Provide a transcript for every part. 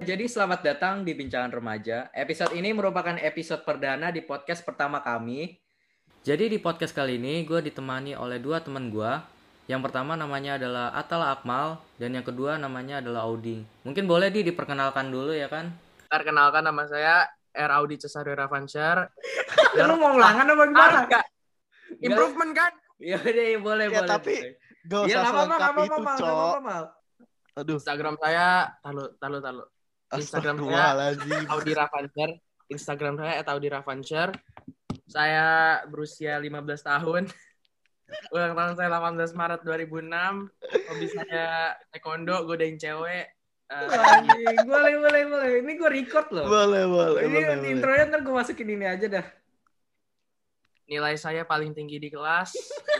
jadi selamat datang di Bincangan Remaja. Episode ini merupakan episode perdana di podcast pertama kami. Jadi di podcast kali ini gue ditemani oleh dua teman gue. Yang pertama namanya adalah Atala Akmal dan yang kedua namanya adalah Audi. Mungkin boleh diperkenalkan dulu ya kan? Perkenalkan, nama saya R. Audi Cesario Ravansyar. Lu mau ngelangan apa gimana? Improvement kan? Ya deh, boleh. Tapi gak Ya usah nggak apa-apa, selengkap itu, Cok. Aduh. Instagram saya, talu. Instagram saya Audi Ravansyar. Instagram saya @audi_ravansyar. Saya berusia 15 tahun. Ulang tahun saya 18 Maret 2006. Hobi saya taekwondo, godain cewek. Anjing, boleh. Ini gue record loh. Boleh. Ini intronya ntar gue masukin ini aja dah. Nilai saya paling tinggi di kelas.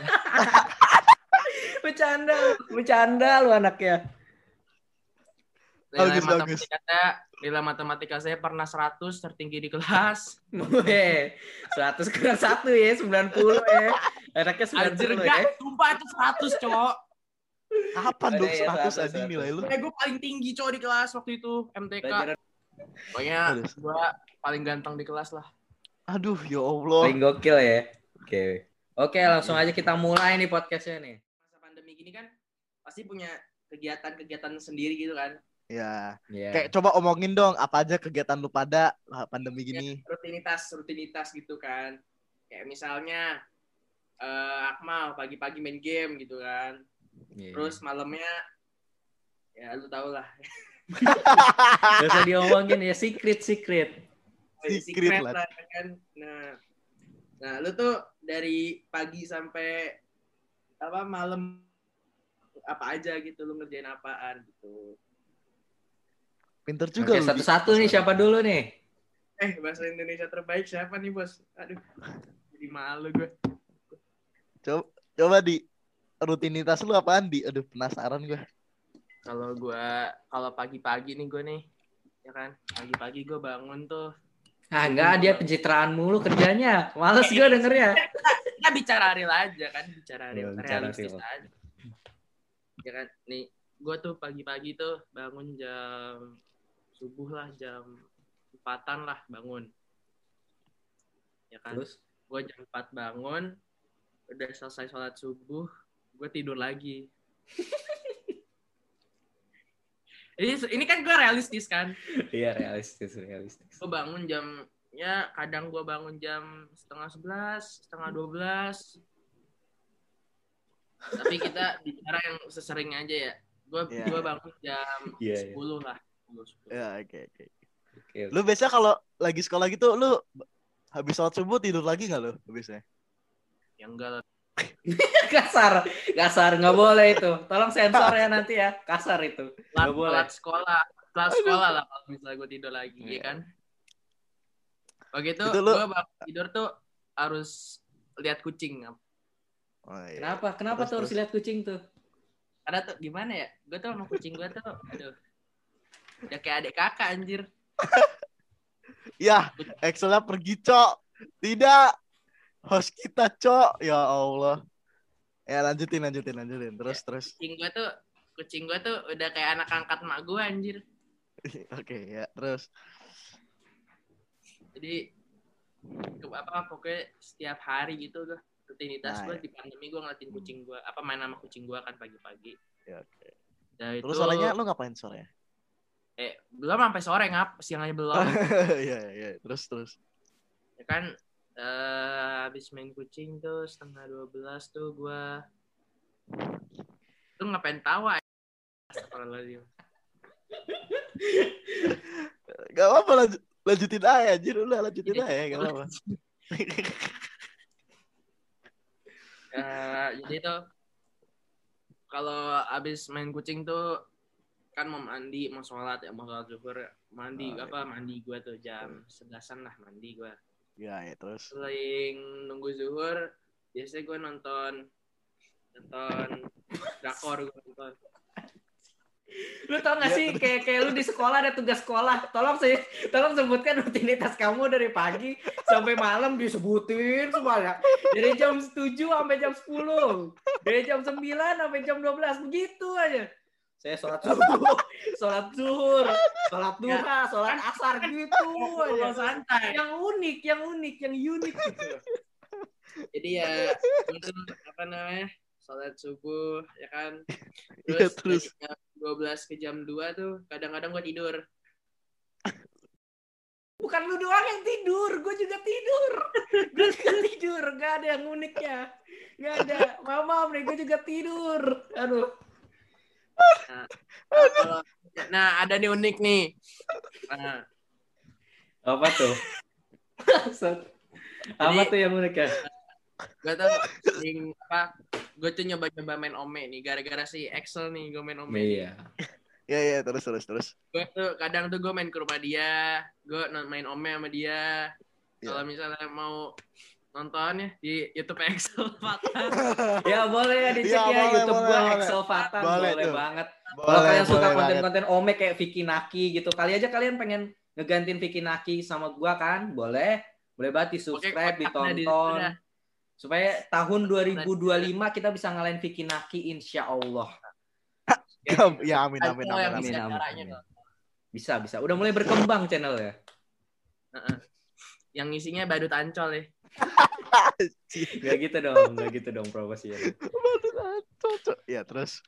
Bercanda lu anaknya. Nilai matematika saya pernah 100, tertinggi di kelas. 100 kurang 1 ya, 90 ya. Anaknya 90 ya. Sumpah itu 100, Cok. Kapan dong 100 anjing nilai lu? Gue paling tinggi, Cok, di kelas waktu itu, MTK. Pokoknya gue paling ganteng di kelas lah. Aduh, ya Allah. Paling gokil ya. Oke, langsung aja kita mulai nih podcastnya nih. Masa pandemi gini kan pasti punya kegiatan sendiri gitu kan. Ya. Kayak coba omongin dong apa aja kegiatan lu pada pandemi gini. Ya, rutinitas gitu kan. Kayak misalnya Akmal pagi-pagi main game gitu kan. Yeah. Terus malamnya ya lu tau lah. Gak usah diomongin ya, secret lah kan. Nah lu tuh dari pagi sampai malam apa aja gitu, lu ngerjain apaan gitu. Pinter juga. Oke, satu-satu nih, siapa dulu nih? Bahasa Indonesia terbaik siapa nih, Bos? Aduh, jadi malu gue. Coba di rutinitas lu apaan, Di? Aduh, penasaran gue. Kalau pagi-pagi nih gue nih, ya kan? Pagi-pagi gue bangun tuh. Enggak, dia pencitraan mulu kerjanya. Males gue dengernya. Kita bicara real aja kan, realistis aja. Ya kan, nih, gue tuh pagi-pagi tuh bangun jam subuh lah, jam 4-an lah bangun. Ya kan? Terus gue jam 4 bangun, udah selesai sholat subuh, gue tidur lagi. Ini kan gue realistis kan? Iya, realistis. Gue bangun kadang gue bangun jam 10:30, 11:30. Tapi kita bicara yang sesering aja ya. Gue bangun jam 10 lah. 10. Ya, oke. Lu biasa kalau lagi sekolah gitu, lu habis sholat subuh tidur lagi nggak lu biasanya? Ya enggak lah. Kasar, nggak boleh itu. Tolong sensor ya nanti ya, kasar itu. Nggak boleh. Telat sekolah lah kalau misalnya gue tidur lagi, ya kan? Begitu gue bangun tidur tuh harus lihat kucing. Oh, iya. Kenapa tuh harus lihat kucing tuh? Karena tuh gimana ya? Gue tuh sama kucing gue tuh, aduh, ya kayak adik kakak anjir. Ya, Excelnya pergi, Cok. Tidak. Host kita, Cok. Ya Allah. Ya, lanjutin. Terus. Kucing gue tuh udah kayak anak angkat mak gue anjir. Oke, ya, terus. Jadi pokoknya setiap hari gitu tuh rutinitas gue di pandemi gue ngeliatin kucing gue, main sama kucing gue kan pagi-pagi. Ya, oke. Nah, terus sorenya lu ngapain sorenya? Belum sampai sore, siang aja belum. Iya. Terus. Ya kan, habis main kucing tuh 11:30 tuh gue. Lu ngapain tawa? Astagfirullahaladzim. Gak apa-apa, lanjutin aja anjir, udah lanjutin aja, gak apa-apa. Jadi tuh kalau abis main kucing tuh kan mau sholat zuhur, mandi gue tuh jam 11-an lah mandi gue. Ya, terus. Selain nunggu zuhur, biasanya gue nonton drakor gue nonton. Lu tau gak sih kayak lu di sekolah ada tugas sekolah, tolong sebutkan rutinitas kamu dari pagi sampai malam, disebutin semuanya dari jam 7 sampai jam 10, dari jam 9 sampai jam 12, begitu aja. Saya sholat subuh, sholat zuhur, sholat duha, sholat asar gitu aja. Santai. Yang unik gitu. Jadi ya itu apa namanya? Sholat subuh ya kan. Iya, Terus terus. dari jam 12 ke jam 2 tuh kadang-kadang gue tidur. Bukan lu doang yang tidur, gue juga tidur. Gue juga tidur, gak ada yang uniknya. Gak ada. Maaf nih, gue juga tidur. Aduh. Nah, ada nih unik nih. Nah, Apa tuh? Apa tuh yang unik ya? gue tuh sering gue tuh nyoba-nyoba main Ome nih gara-gara si Excel nih gue main Ome. Iya. Iya, terus. Gue tuh kadang tuh gue main ke rumah dia, gue main Ome sama dia. Kalau misalnya mau nonton ya di YouTube Excel Fatan. Ya boleh ya dicek Ya, ya boleh, YouTube boleh, gua boleh. Excel Fatan Boleh boleh tuh. banget. Kalau Boleh, kalian suka boleh konten-konten Ome kayak Vicky Naki gitu, kali aja kalian pengen ngegantiin Vicky Naki sama gua kan? Boleh banget di subscribe, Oke, ditonton. udah. Supaya tahun 2025 kita bisa ngalahin Vicky Naki insya Allah. Ya, amin. Bisa. Udah mulai berkembang channel ya. Yang isinya badut ancol ya. Gak gitu dong promosi ya. Ya, terus.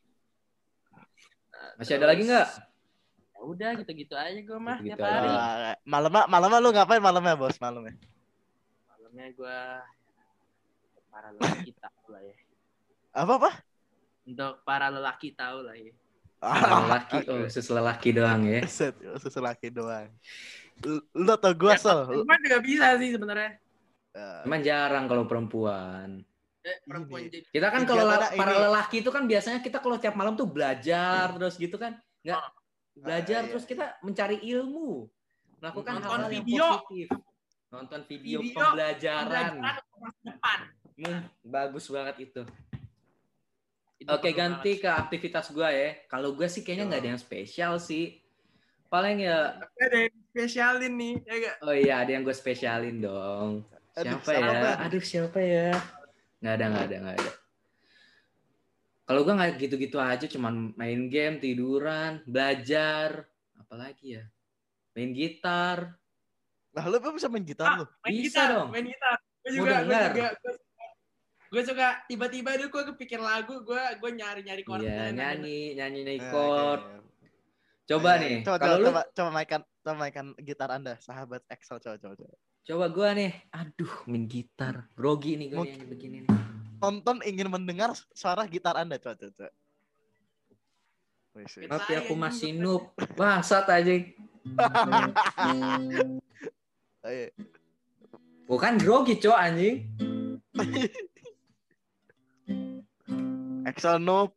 Masih ada lagi nggak? Ya udah gitu-gitu aja gue mah Gitu-gitu tiap hari. aja. Malamnya lu ngapain malamnya, Bos? Malamnya Gue para lelaki tahu lah ya. apa? Untuk para lelaki tahu lah ya. Lelaki, khusus lelaki doang ya. Khusus lelaki doang. Lu atau gua, Sol? Perempuan juga bisa sih sebenarnya. Cuman jarang kalau perempuan. Perempuan jadi. Kita kan kalau Kegiatannya para ini. lelaki itu kan biasanya kita kalau tiap malam tuh belajar terus gitu kan. Nggak belajar Iya. Terus kita mencari ilmu. Melakukan Nonton hal-hal yang video. positif. Nonton video pembelajaran. Depan. Bagus banget itu. Itu Oke, perlu ganti banget. ke aktivitas gue ya. Kalau gue sih kayaknya nggak ada yang spesial sih. Paling ya. Tapi ada yang spesialin nih, ya gak? Oh iya, ada yang gue spesialin dong. Siapa ya? Nggak ada. Kalau gue nggak gitu-gitu aja, cuman main game, tiduran, belajar, apalagi ya, main gitar. Nah, lu bisa main gitar lu? Bisa dong. Main gitar. Gue suka tiba-tiba dulu gue kepikir lagu, gue nyari chord. Iya, nyanyi chord. Coba nih, coba mainkan gitar Anda, sahabat Excel, coba. Coba gue nih, aduh, main gitar, grogi nih gue nyanyi begini nih. Nonton ingin mendengar suara gitar Anda, coba. Tapi aku masih noob, bangsat aja. Bukan grogi, cowok anjing. Excel noob.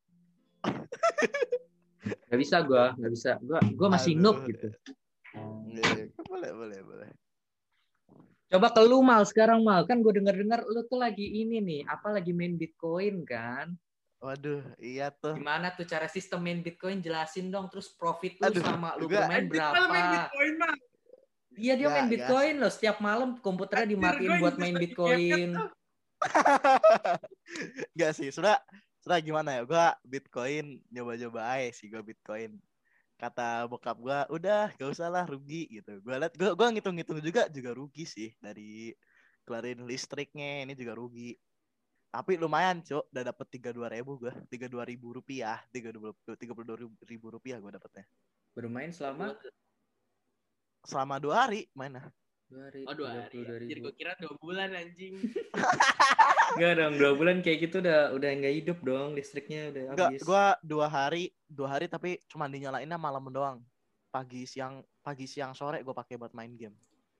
Gak bisa gue masih noob gitu. Boleh. Coba ke lu Mal sekarang Mal, kan gue dengar lu tuh lagi ini nih, lagi main Bitcoin kan? Waduh, iya tuh. Gimana tuh cara sistem main Bitcoin, jelasin dong, terus profit lu sama lu juga, bermain berapa? Main Bitcoin, Bang. Iya dia main Bitcoin loh, setiap malam komputernya dimatiin buat main Bitcoin. Gak sih, sudah gimana ya? Gue Bitcoin nyoba-nyoba aja sih, gue Bitcoin. Kata bokap gue, udah gak usah lah, rugi gitu. Gue ngitung-ngitung juga rugi sih, dari kelarin listriknya ini juga rugi. Tapi lumayan cok, udah dapet 32.000 gue, 32.000 rupiah, 32.000 rupiah gue dapetnya. Bermain selama 2 hari mainnya. 2 hari. Oh 2 hari. Jadi gue kira 2 bulan anjing. Enggak dong, 2 bulan kayak gitu udah nggak hidup dong, listriknya udah habis. Gue 2 hari tapi cuma dinyalainnya malam doang. Pagi siang sore gue pakai buat main game.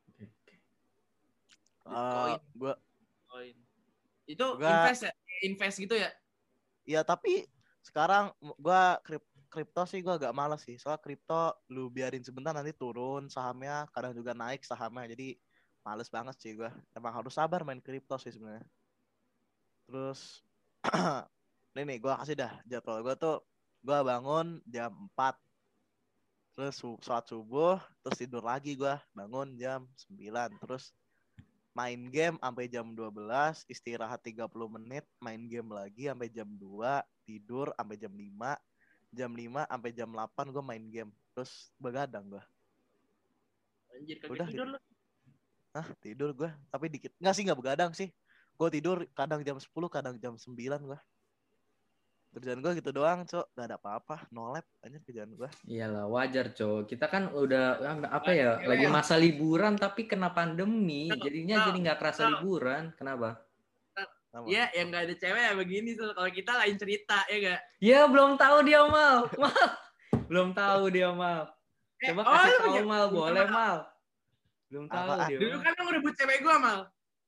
Gue itu invest gitu ya? Iya, tapi sekarang gue kripto sih gue agak malas sih. Soalnya kripto lu biarin sebentar nanti turun sahamnya, kadang juga naik sahamnya. Jadi males banget sih gue. Emang harus sabar main kripto sih sebenarnya. Terus nih gue kasih dah jadwal gue tuh. Gue bangun jam 4. Terus sholat subuh, terus tidur lagi gue. Bangun jam 9. Terus main game sampai jam 12, istirahat 30 menit, main game lagi sampai jam 2, tidur sampai jam 5. jam 5 sampai jam 8 gue main game. Terus begadang gue. Anjir kagak Udah tidur gitu. lu. Hah, tidur gue. Tapi dikit. Nggak begadang sih. Gue tidur kadang jam 10, kadang jam 9 gue. Kerjaan gue gitu doang, Cok. Gak ada apa-apa. No lab aja kerjaan gue. Iyalah, wajar, Cok. Kita kan udah apa ya, lagi masa liburan tapi kena pandemi, jadinya jadi nggak kerasa liburan. Kenapa? Iya, yang nggak ada cewek ya begini tuh. Kalau kita lain cerita, ya nggak? Ya belum tahu dia Mal. Belum tahu dia Mal. Coba kasih tahu Mal, boleh Mal. Belum tahu dia. Dulu kan lu ngerebut cewek gue, Mal.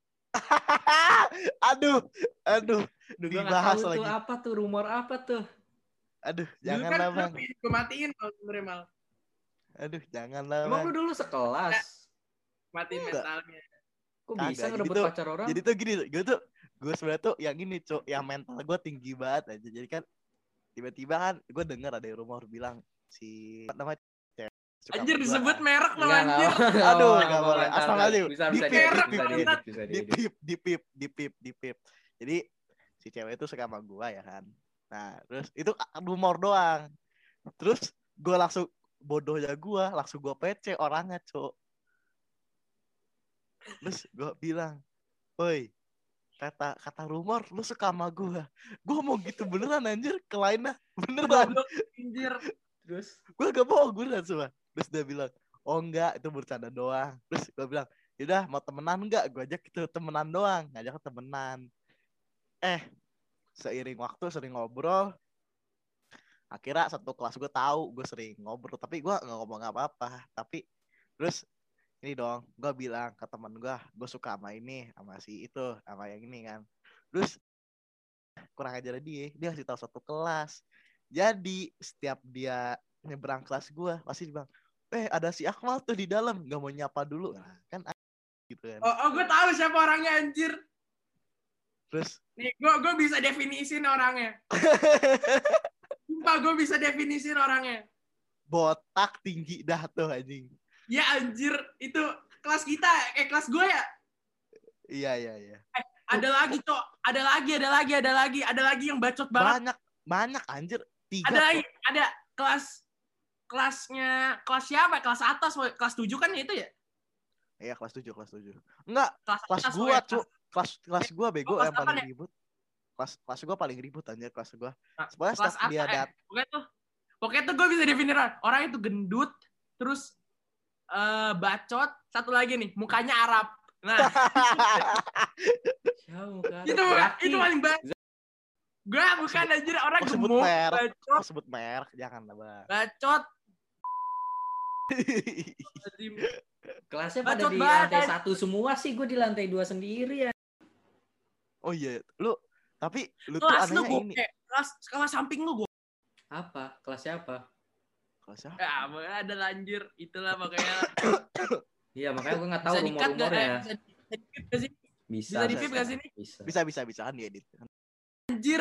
Aduh. Dibahas tahu lagi. Tuh apa tuh, rumor apa tuh? Aduh, dulu jangan kan lah Bang. Gue matiin Mal sebenernya, Mal. Aduh, jangan lah Bang. Emang lu dulu sekelas? Matiin mentalnya. Kok bisa Kagak, ngerebut jadi pacar orang? Jadi tuh gini, gue sebenarnya tuh yang ini, Cok, yang mental gue tinggi banget aja. Jadi kan tiba-tiba kan gue denger ada rumor bilang si namanya anjir disebut merek lo anjir. Aduh, enggak boleh. Asal aja. Di pip. Jadi si cewek itu suka sama gue ya kan. Nah, terus itu rumor doang. Terus gue langsung bodohnya gue langsung gue PC orangnya, Cok. Terus gue bilang, "Woi, kata rumor lu suka sama gue mau gitu beneran anjir, ke lainnya beneran anjir." Terus gue gak bohong beneran semua. Terus dia bilang, "Oh enggak, itu bercanda doang." Terus gue bilang, "Yaudah mau temenan enggak?" Gue ajak itu temenan doang, ngajak temenan. Seiring waktu sering ngobrol, akhirnya satu kelas gue tahu gue sering ngobrol, tapi gue nggak ngomong apa-apa. Tapi terus ini dong, gue bilang ke teman gue suka sama ini, sama si itu, sama yang ini kan. Terus kurang ajar dia kasih tahu satu kelas. Jadi setiap dia nyebrang kelas gue pasti bilang, ada si Akmal tuh di dalam, nggak mau nyapa dulu. Nah, kan gitu kan. Oh, gue tahu siapa orangnya anjir. Terus nih gue bisa definisin orangnya. Sumpah gue bisa definisin orangnya. Botak, tinggi dah tuh anjing. Ya anjir, itu kelas kita, kelas gue ya? Iya. Ada lagi, Cok. Ada lagi yang bacot banget. Banyak anjir. 3. Ada lagi, ada kelasnya, kelas siapa? Kelas atas, kelas 7 kan itu ya? Iya, kelas 7. Enggak, kelas gua, Cuk. Kelas gua bego yang paling ribut. Kelas gua paling ribut anjir, kelas gua. Sebenarnya kelas dia pokoknya tuh gue bisa definisikan orang itu gendut, terus bacot, satu lagi nih mukanya Arab. Nah, itu paling bacot. Gue bukan anjir orang gemuk, bacot. Sebut merek, jangan lah Bang. Bacot. Kelasnya pada di lantai 1 semua sih, gue di lantai 2 sendiri ya. Oh iya, tapi lu kelas tuh anehnya ini. Kelas samping lu gue. Apa? Kelas siapa? Ya, ada lanjir. Itulah makanya. Iya, makanya gue nggak tahu rumor-rumornya. Bisa di-pip gak sih ini? Bisa kan diedit. Anjir.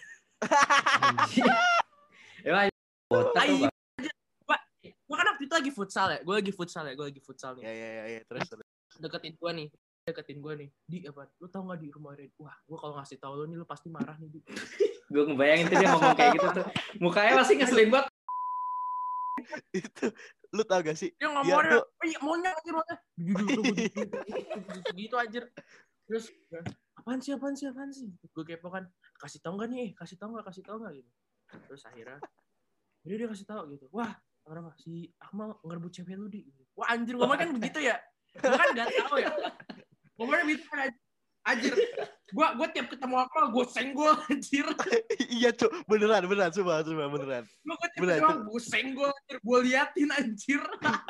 Emang botak tuh, Bang. Gue kan waktu itu lagi futsal ya. Gue lagi futsal nih. Iya. Terus. Deketin gue nih. Di apa? Lu tau gak di rumah Red? Wah, gue kalau ngasih tau lu nih lu pasti marah nih, Di. Gue ngebayangin tuh dia ngomong kayak gitu tuh. Mukanya pasti ngeselin banget. Itu lu tau gak sih? Dia ngomongnya, maunya gitu anjir. Terus apaan sih? Gue kepo kan. Kasih tau gak gitu. Terus akhirnya dia kasih tau gitu. Wah, kenapa si Akmal ngerebut cewek lu, Di. Wah anjir, ngomongnya kan begitu ya. Gue kan gak tahu ya. Ngomongnya begitu kan anjir. Gue tiap ketemu Akmal gue senggol anjir. Iya, Cuk. Beneran coba beneran. Gue tiap ketemu gue senggol anjir, gue liatin anjir.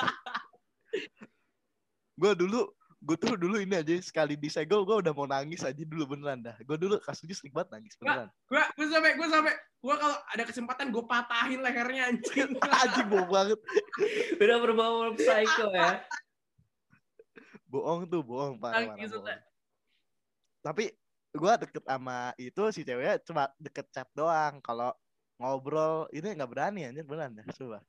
Gue tuh dulu ini aja sekali disegol gue udah mau nangis aja dulu beneran dah. Gue dulu kasusnya sering banget nangis beneran. Gue sampai kalau ada kesempatan gue patahin lehernya anjing. Anjing bohong banget. Udah berbau psycho ya. Bohong parah. Tapi gue deket sama itu si ceweknya cuma deket chat doang. Kalau ngobrol ini nggak berani anjir beneran dah. Coba.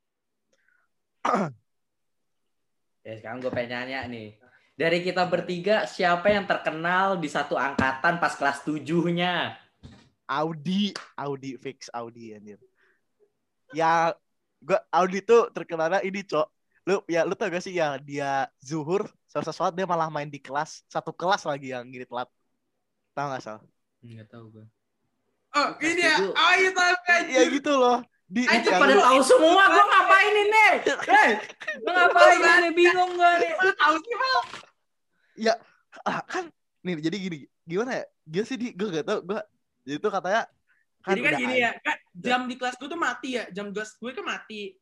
Ya sekarang gue pengen nanya nih. Dari kita bertiga, siapa yang terkenal di satu angkatan pas kelas 7-nya? Audi fix Audi anjir. Ya gua Audi tuh terkenalnya ini, Cok. Lu tau gak sih ya dia zuhur sesuatu dia malah main di kelas, satu kelas lagi yang gini telat. Tahu gak, Sal? Enggak tahu gue. Oh, ini ya. Oh, iya tahu kan. Ya gitu loh. Anjir pada tahu semua, gue ngapain ini? Gue ngapain ini? Bingung gue nih. Lu tahu sih, Mal? Ya kan nih jadi gimana ya? Dia sih gue gak tau, jadi tuh katanya jadi kan gini ya, kan jam di kelas gue tuh mati ya. Jam kelas gue kan mati.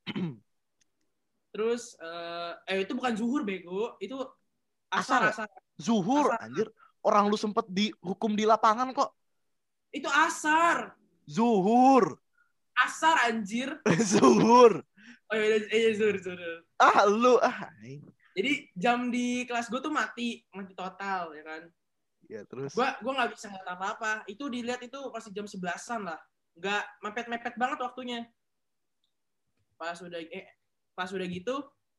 Terus itu bukan zuhur bego, itu asar. Zuhur, asar. Anjir. Orang lu sempet dihukum di lapangan kok. Itu asar. Zuhur. Asar anjir. Zuhur. Oh iya zuhur. Lu Jadi jam di kelas gue tuh mati total ya kan. Ya terus. Gue nggak bisa ngeliat apa-apa. Itu dilihat itu pasti jam 11-an lah. Nggak mepet-mepet banget waktunya. Pas udah gitu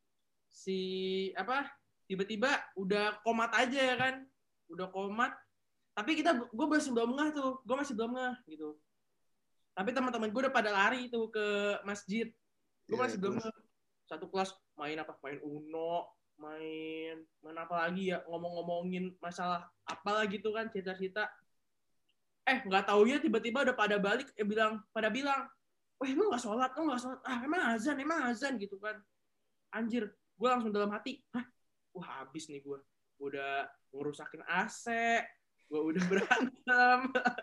tiba-tiba udah komat aja ya kan. Udah komat. Tapi gue masih belum ngeh tuh. Gue masih belum ngeh gitu. Tapi teman-teman gue udah pada lari tuh ke masjid. Gue masih belum ngeh. Satu kelas main apa? Main Uno, main apa lagi ya? Ngomong-ngomongin masalah apalah gitu kan, cerita-cerita. Nggak taunya tiba-tiba udah pada balik, pada bilang, wah lu nggak sholat. Emang azan gitu kan. Anjir, gue langsung dalam hati, wah habis nih gue. Udah ngerusakin AC, gue udah berantem.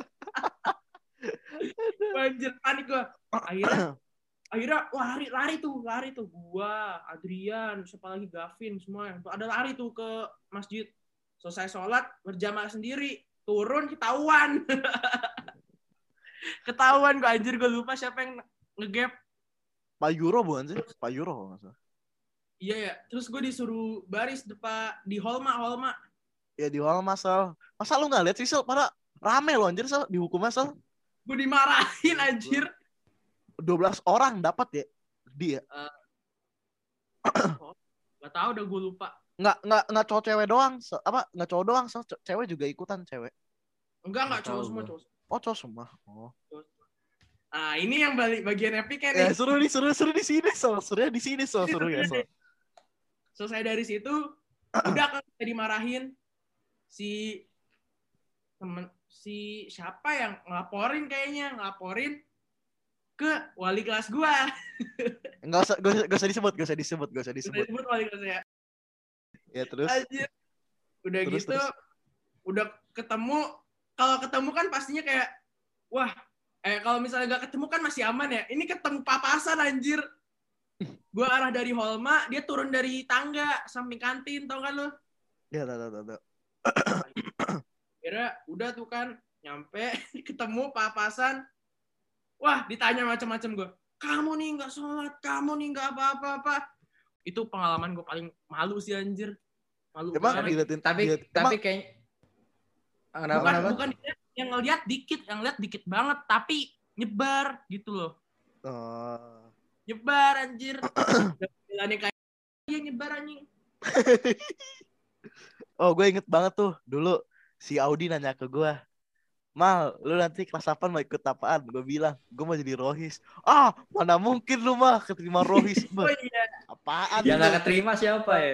Anjir, panik gue. Akhirnya lari tuh gua, Adrian, siapa lagi, Gavin, semua yang ada lari tuh ke masjid. Selesai sholat berjamaah sendiri, turun ketahuan. Ketahuan gua, anjir, gua lupa siapa yang ngegap. Pak Euro bukan sih? Pak Euro kalau nggak salah. Iya ya, terus gue disuruh baris di Holma. Ya di Holma, Sal. Masa lu nggak lihat sih, Sal? Pada rame loh anjir, Sal, dihukumnya, Sal. Gue dimarahin anjir. 12 orang dapat ya dia. Gak tau udah gue lupa. Nggak cowok cewek doang. Nggak cowok doang, so, cewek juga ikutan cewek. Enggak cowok semua. Oh, cowok semua. Oh. Ah, ini yang bagian epic kan nih. Ya, seru di sini, so. Seru ya, so. Selesai dari situ udah kan kita dimarahin si siapa yang ngelaporin ke wali kelas gua. Enggak usah disebut. Disebut wali kelas ya. Ya terus. Anjir. Udah terus, gitu, udah ketemu. Kalau ketemu kan pastinya kayak, wah, kalau misalnya nggak ketemu kan masih aman ya. Ini ketemu papasan anjir. Gua arah dari Holma, dia turun dari tangga samping kantin, tau kan lo? Ya, tahu. Kira udah tuh kan, nyampe ketemu papasan. Wah, ditanya macam-macam gue. Kamu nih nggak sholat, kamu nih nggak apa-apa. Itu pengalaman gue paling malu sih anjir. Malu banget. Tapi kayak bukan yang ngeliat dikit banget, tapi nyebar gitu loh. Nyebar anjir. Bilangnya kayak dia nyebar anjing. Oh, gue inget banget tuh dulu si Audi nanya ke gue, Mal, lu nanti kelas 8 mau ikut apaan? Gue bilang, gue mau jadi rohis. Mana mungkin lu mah keterima rohis. Oh iya. Apaan? Yang gak keterima siapa ya?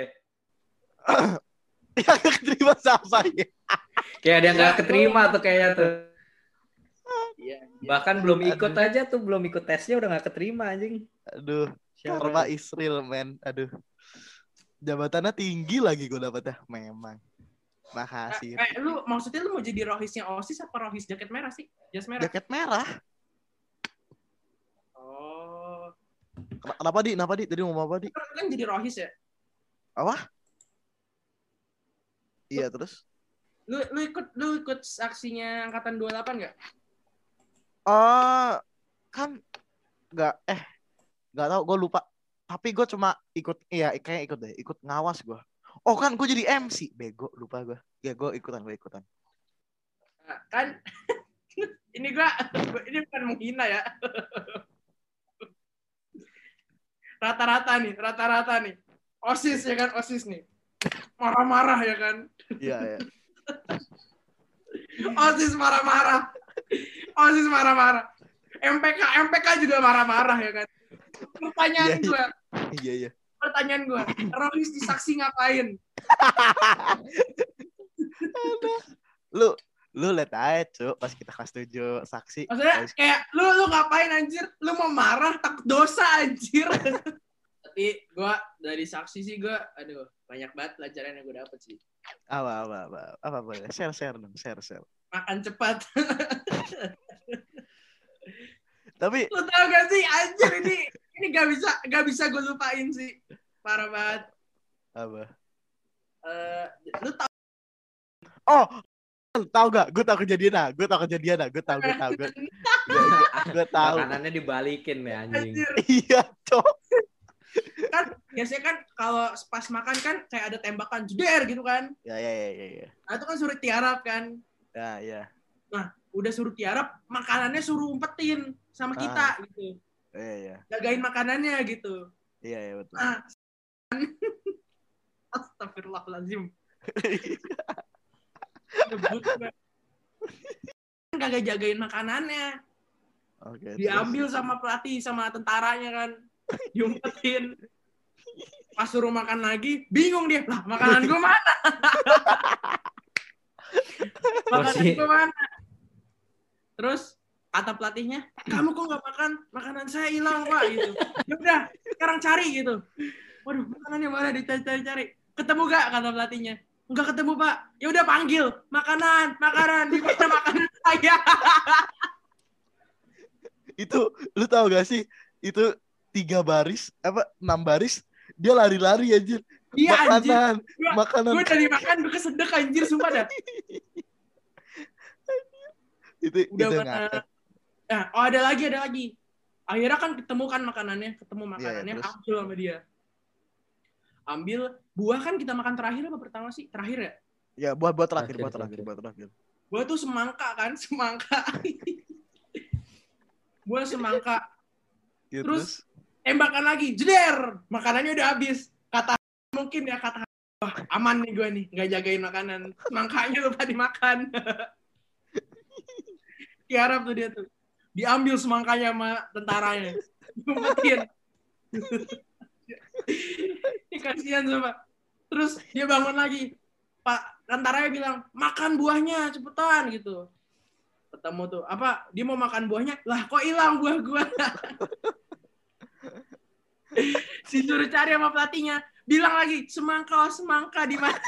Yang gak keterima siapa ya? Kayak dia gak keterima tuh kayaknya tuh. Iya. Bahkan belum ikut aja tuh, belum ikut tesnya udah gak keterima anjing. Aduh, karma Israel, men. Aduh. Jabatannya tinggi lagi gue dapetnya. Memang. Makasih. Maksudnya lu mau jadi rohisnya OSIS apa rohis jaket merah sih? Jas merah? Jaket merah. Oh. Kenapa di? Tadi mau apa di? Kan jadi rohis ya? Apa? Iya, terus? Lu ikut aksinya angkatan 28 enggak? Kan enggak tahu, gue lupa. Tapi gue cuma kayaknya ikut deh, ikut ngawas gue. Oh kan gue jadi MC, bego, lupa gue. Ya gue ikutan. Nah, kan ini bukan menghina ya. Rata-rata nih. OSIS ya kan, OSIS nih. Marah-marah ya kan. Iya. OSIS marah-marah. MPK juga marah-marah ya kan. Iya. Pertanyaan gue, Rohis di saksi ngapain? Lu lihat aja Cuk pas kita kelas 7 saksi. Maksudnya kayak lu ngapain anjir? Lu mau marah takut dosa anjir. Tapi gue dari saksi sih gue aduh banyak banget pelajaran yang gue dapet sih. Apa boleh? Share dong, share. Makan cepat. Tapi lu tau gak sih anjir ini gak bisa gue lupain sih. Parah banget. Apa? Lu tau tahu gak? Gue tahu kejadian. Gue tahu. Makanannya dibalikin ya anjing. Iya, Cok. Kan biasanya kan kalau pas makan kan kayak ada tembakan jeder gitu kan. Ya. Nah, itu kan suruh tiarap kan. Ya. Nah, udah suruh tiarap, makanannya suruh umpetin sama kita gitu. Iya. Jagain makanannya gitu. Iya, betul. Nah, astagfirullahaladzim. Kagak jagain makanannya. Oke. Diambil sama pelatih sama tentaranya kan. Diumpetin. Pas suruh makan lagi, bingung dia. Lah, makanan gue mana? Terus kata pelatihnya, kamu kok nggak makan? Makanan saya hilang Pak gitu. Ya udah, sekarang cari gitu. Waduh, makanannya mana? Dicari. Ketemu gak? Kata pelatihnya. Enggak ketemu Pak. Ya udah panggil. Makanan. Di mana makanan saya? Itu lu tahu gak sih? Itu 6 baris dia lari-lari anjir. Iya Makanan. Gue dari makan gue kesedek anjir sumpah dah. itu ngakak. Nah, ada lagi. Akhirnya kan ketemu makanannya, ambil sama dia. Ambil buah kan kita makan terakhir apa pertama sih? Terakhir ya? Ya, buah terakhir. Buah tuh semangka. Buah semangka. Ya, terus tembakan lagi, jeder. Makanannya udah habis. Kata wah, aman nih gue nih, nggak jagain makanan. Semangkanya lupa dimakan. Tiarap tuh dia tuh. Diambil semangkanya sama tentaranya. Ngumpetin. Ini kasihan sama. Terus dia bangun lagi. Pak tentaranya bilang, makan buahnya cepetan gitu. Ketemu tuh, dia mau makan buahnya. Lah kok hilang buah gua? Si suruh cari sama pelatihnya. Bilang lagi, semangka di mana?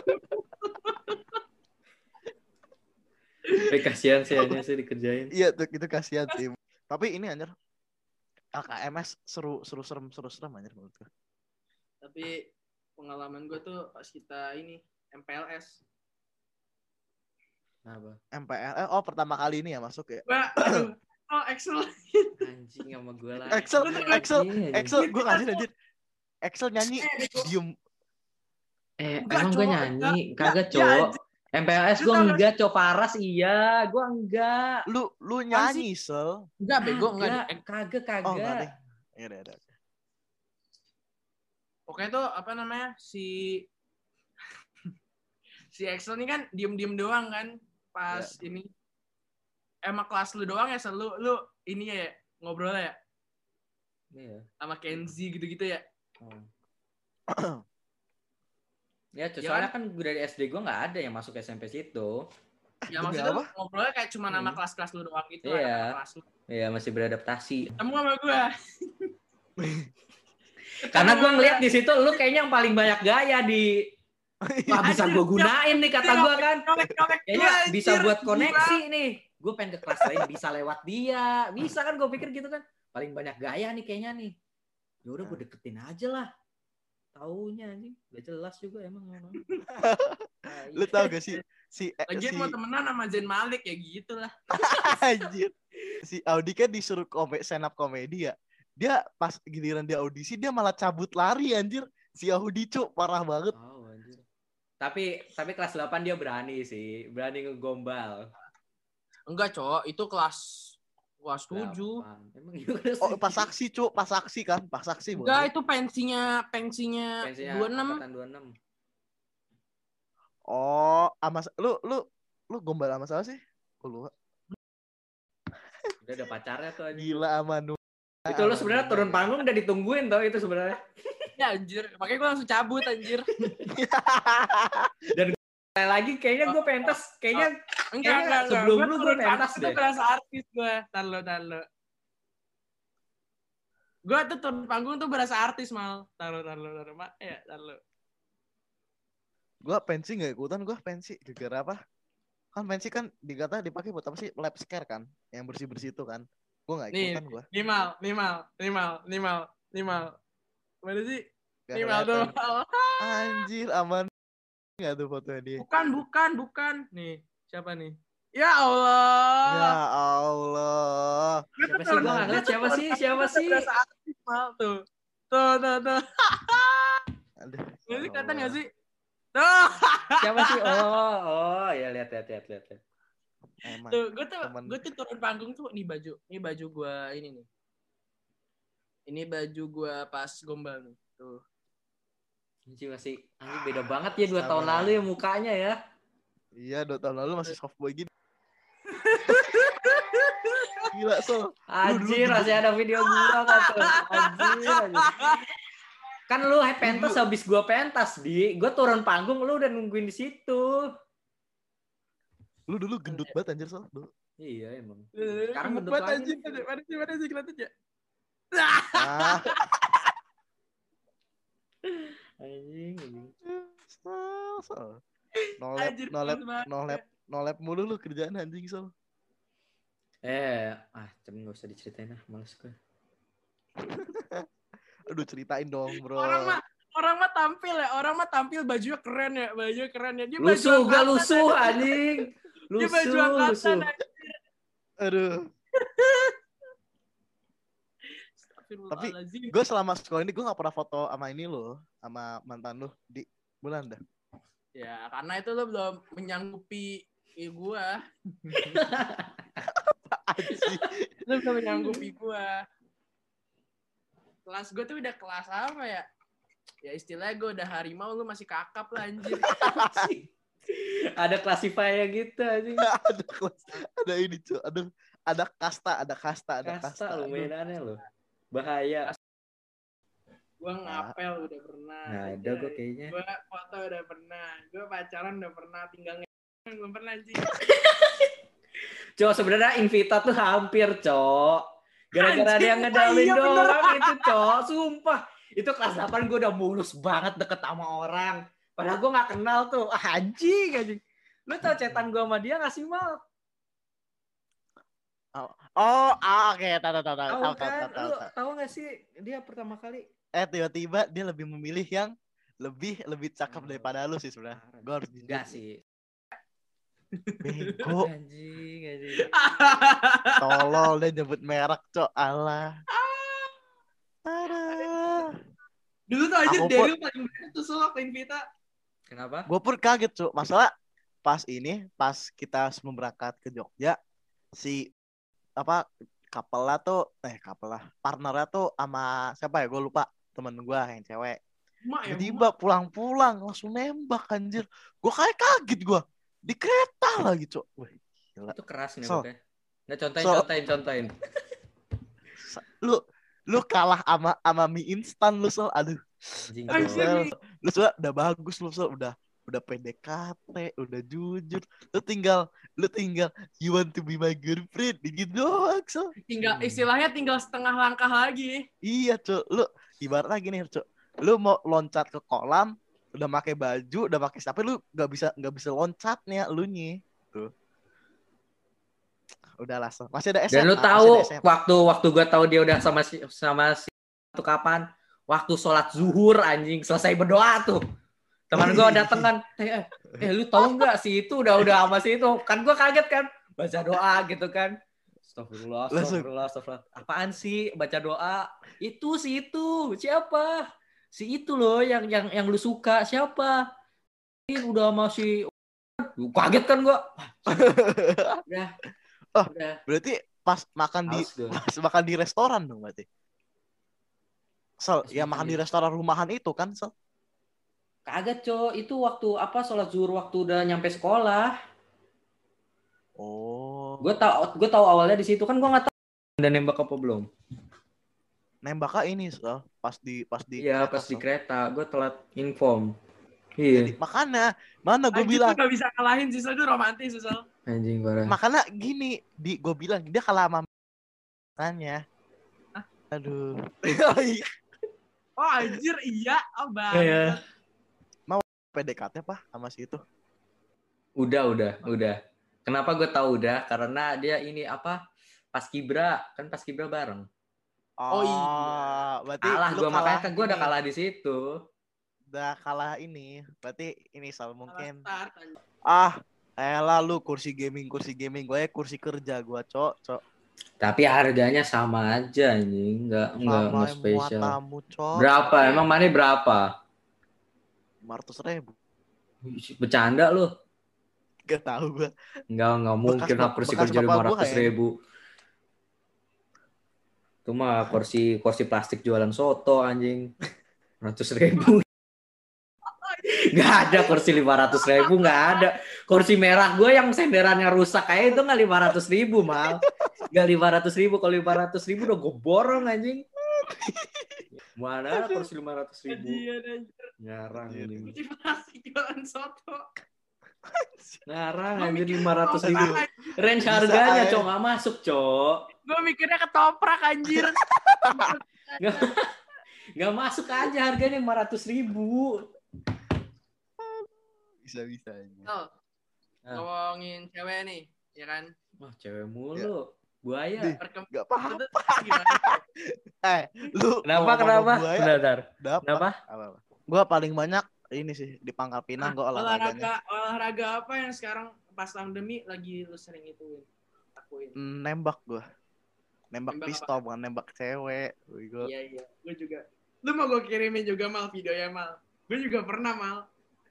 Kasihan sih hanya sih dikerjain. Iya, itu kasihan sih. Tapi ini anjir LKMS seru serem anjir menurut gue. Tapi pengalaman gue tuh pas kita ini MPLS. Apa? MPLS pertama kali ini ya masuk ya. Excel. Anjing sama gue lah. Excel gue kasih anjir. Excel nyanyi diem. Emang gue nyanyi kagak cowok. MPLS gue enggak, Cok. Paras iya, gue enggak. Lu nyanyi, Sel. Enggak, bego enggak. Kagak. Oh, enggak deh. Ya. Pokoknya tuh si Excel ini kan diem-diem doang kan pas ini. Emang kelas lu doang ya, Sel? Lu ini ya ngobrol ya? Iya. Sama Kenzi gitu-gitu ya? Ya, soalnya kan dari SD gue nggak ada yang masuk SMP situ. Ya maksudnya ngobrolnya kayak cuma nama kelas-kelas lu doang gitu. Iya. Iya, masih beradaptasi. Ketemu sama gue. Karena gue ngeliat di situ lu kayaknya yang paling banyak gaya di. Wah, bisa gue gunain nih kata gue kan. Kayaknya bisa buat koneksi nih. Gue pengen ke kelas lain bisa lewat dia. Bisa kan gue pikir gitu kan. Paling banyak gaya nih kayaknya nih. Ya udah gue deketin aja lah. Taunya anjing, gak jelas juga emang. Lu tau gak sih lagi mau temenan sama Zain Malik ya gitu lah. Anjir. Si Audi kan disuruh stand up komedi ya. Dia pas giliran dia audisi dia malah cabut lari anjir. Si Audi Cuk parah banget. Oh, anjir. Tapi kelas 8 dia berani sih, berani ngegombal. Enggak, Cok, itu kelas 7. Emang gimana? Pas saksi, Cuk, pas saksi kan, pas saksi. Enggak, itu pensinya 26. Angkatan 26. Oh, lu gombal sama siapa sih? Lu. Udah ada pacarnya tuh anjing. Gila Amanu. Itu lo sebenarnya turun panggung udah ditungguin tau itu sebenarnya. Ya anjir, makanya gue langsung cabut anjir. Dan lagi kayaknya gue pentas, kayaknya Enggak. sebelum lu gue pentas Itu deh. berasa artis gue. Tahan lo. Gue tuh turun panggung tuh berasa artis mal. Tahan lo. Ya, tahan lo. Gue pensi nggak ikutan, gue pensi gara-gara apa? Kan pensi kan dikata dipakai buat apa sih? Lab scare kan, yang bersih itu kan. Gue nggak ikutan gue. Nimal. Mana sih? Gak Nimal tuh. kelihatan. Anjir, aman nggak tuh fotonya dia? Bukan. Nih, siapa nih? Ya Allah. Ya Allah. Siapa sih? Gue nggak ngeliat siapa sih? Berasa artis mal tuh. Tuh. Aduh. Ini kelihatan nggak sih? Tuh. Siapa sih? Oh, ya lihat. Emang. Tuh, temen. gue tuh turun panggung tuh ini baju gue ini nih. Ini baju gue pas gombal nih. Tuh. Anjing masih beda banget ya 2 tahun lalu ya mukanya ya. Iya, 2 tahun lalu masih soft boy gini. Gila, Sol. Anjir, masih ada video gua kan tuh. Anjir. Kan lu pentas habis gua pentas, Gua turun panggung lu udah nungguin di situ. Lu dulu gendut banget anjir, Sol. Dulu. Iya emang. Sekarang gendut buat lagi. Mana sih kelihatan ya? Ah. Anjing. Sol. Anjir, No lab mulu lu kerjaan anjing, Sol. Cuman gak usah diceritain lah, males gue. Aduh, ceritain dong, bro. Orang mah tampil bajunya keren ya. Dia Lusuh anjing. Dia baju angkatan anjir. Aduh. Tapi gue selama sekolah ini gue gak pernah foto sama ini lo, sama mantan lo di bulan dah. Ya, karena itu lo belum menyanggupi gue. Lo belum menyanggupi gue. Kelas gue tuh udah kelas apa ya? Ya istilahnya gue udah harimau, lu masih kakap lah anjir. Ada classifier gitu anjing. Ada ini cuy. Ada kasta. Lu mainannya lo. Bahaya. Gue ngapel udah pernah. Nah, ada gue kayaknya. Gue foto udah pernah. Gue pacaran udah pernah. Tinggal belum pernah anjing. Cok, sebenarnya Invita tuh hampir, Cok. Gara-gara dia ngedalin doang itu, Cok. Sumpah. Itu kelas 8 gue udah mulus banget deket sama orang. Padahal gue gak kenal tuh. Anjing. Lu tau cetan gue sama dia gak sih, Mal? Oke. Tahu. Lu tahu gak sih dia pertama kali? Tiba-tiba dia lebih memilih yang lebih cakep daripada lu sih sebenarnya. Gue harus enggak sih. Bego. Anjing. Tolol dia nyebut merek, Cok. Alah. Dulu tuh aja Daryl paling banyak tuh soal Invita. Kenapa? Gue pun kaget, Cok. Masalah pas kita sebelum berangkat ke Jogja, si partnernya tuh sama siapa ya? Gue lupa, temen gue yang cewek. Tiba-tiba pulang-pulang langsung nembak anjir. Gue kaget gue. Di kereta lagi, Cok. Wah, gila. Itu keras nih pokoknya. Nggak contohin. Lu kalah sama mie instan lu, Sol. Aduh. Anjing. Lu udah bagus lu, Sol. Udah PDKT, udah jujur. Lu tinggal you want to be my girlfriend gitu doang, Sol. Istilahnya tinggal setengah langkah lagi. Iya, Cok. Lu ibarat lagi nih, Cok. Lu mau loncat ke kolam, udah pakai baju, udah pakai tapi lu nggak bisa loncat nih lu nih. Tuh. Udah lah, masih ada SMA. Dan lu tahu waktu gue tahu dia udah sama si itu kapan? Waktu sholat zuhur anjing, selesai berdoa tuh. Teman gue dateng kan, lu tahu nggak si itu udah sama si itu? Kan gue kaget kan, baca doa gitu kan. Astagfirullah. Apaan sih baca doa? Itu si itu siapa? Si itu loh yang lu suka siapa? Ini udah masih kaget kan gue. Udah. Berarti pas makan di restoran dong berarti. Makan di restoran rumahan itu kan, Sol? Kagak, Cok. Itu waktu sholat zuhur waktu udah nyampe sekolah. Oh. Gue tahu awalnya di situ kan gue nggak tahu Udah nembak apa belum? Nembaknya ini pas di Iya, kereta, pas di Sob. kereta. Gue telat inform. Iya. Jadi makanya mana gue Anjir bilang tuh gak bisa kalahin sih, itu romantis sih. Anjing parah. makanya gini gue bilang dia kalah sama tanya. Hah? Aduh. Oh anjir iya. Oh Iya. banget. PDKT apa sama si itu? Udah. Kenapa gue tahu udah? Karena dia ini apa? Paskibra bareng. Oh, iya. Berarti Kalah lu gue, makanya kan gue udah ini. kalah di situ. Udah kalah ini. Berarti ini Sal mungkin. Start, anjir. Elah lu kursi gaming gue kursi kerja gue cok. Tapi harganya sama aja anjing, enggak Sama spesial. muatamu cok. Berapa? Emang mana berapa? 500.000. Bercanda lu? Gak tahu gue. Enggak mungkin lah kursi kerja bapak gua 500.000. Itu mah kursi plastik jualan soto anjing. 100.000. Nggak ada kursi 500.000, nggak ada. Kursi merah gue yang senderannya rusak kayak itu nggak 500.000 mal. Nggak 500.000, kalau 500.000 udah gue borong anjing. Mana ada kursi 500.000? Anjir. Ngarang ini. Kursi plastik jualan soto. Ngarang Gua anjir mikir 500.000. ketoprak. Range Bisa harganya aja. cok nggak masuk cok. Gue mikirnya ketoprak anjir. Nggak masuk aja harganya 500.000. Bisa Oh, ngomongin cewek nih, ya kan? Wah cewek mulu. Buaya. Di- Gak paham. Itu gimana? Lu Kenapa? buaya, Bentar. Kenapa? apa? Gue paling banyak ini sih di Pangkal Pinang gue olahraganya. Olahraga apa yang sekarang pas pandemi lagi lu sering ituin? Lakuin. Nembak gue. Nembak Nembak pistol bukan nembak cewek. Gue Iya, gue juga. Lu mau gue kirimin juga mal videonya mal. Gue juga pernah mal.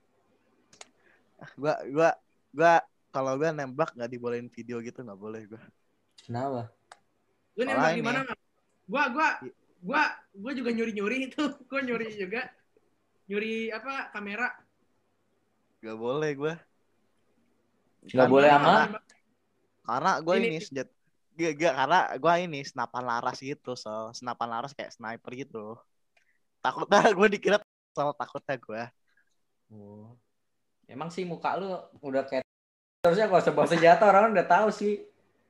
kalau gue nembak nggak dibolehin video gitu nggak boleh gue. Kenapa? Lu nembak di mana mal? Gua juga nyuri itu. Gue nyuri juga. Nyuri apa kamera? Gak boleh gue. Nggak boleh amat. Karena gue Ini- ini sejat karena gue ini senapan laras gitu, senapan laras kayak sniper gitu. Takutnya gue dikira takutnya gue. Oh. Emang sih muka lu udah kayak harusnya kalau sebuah senjata orang udah tahu sih.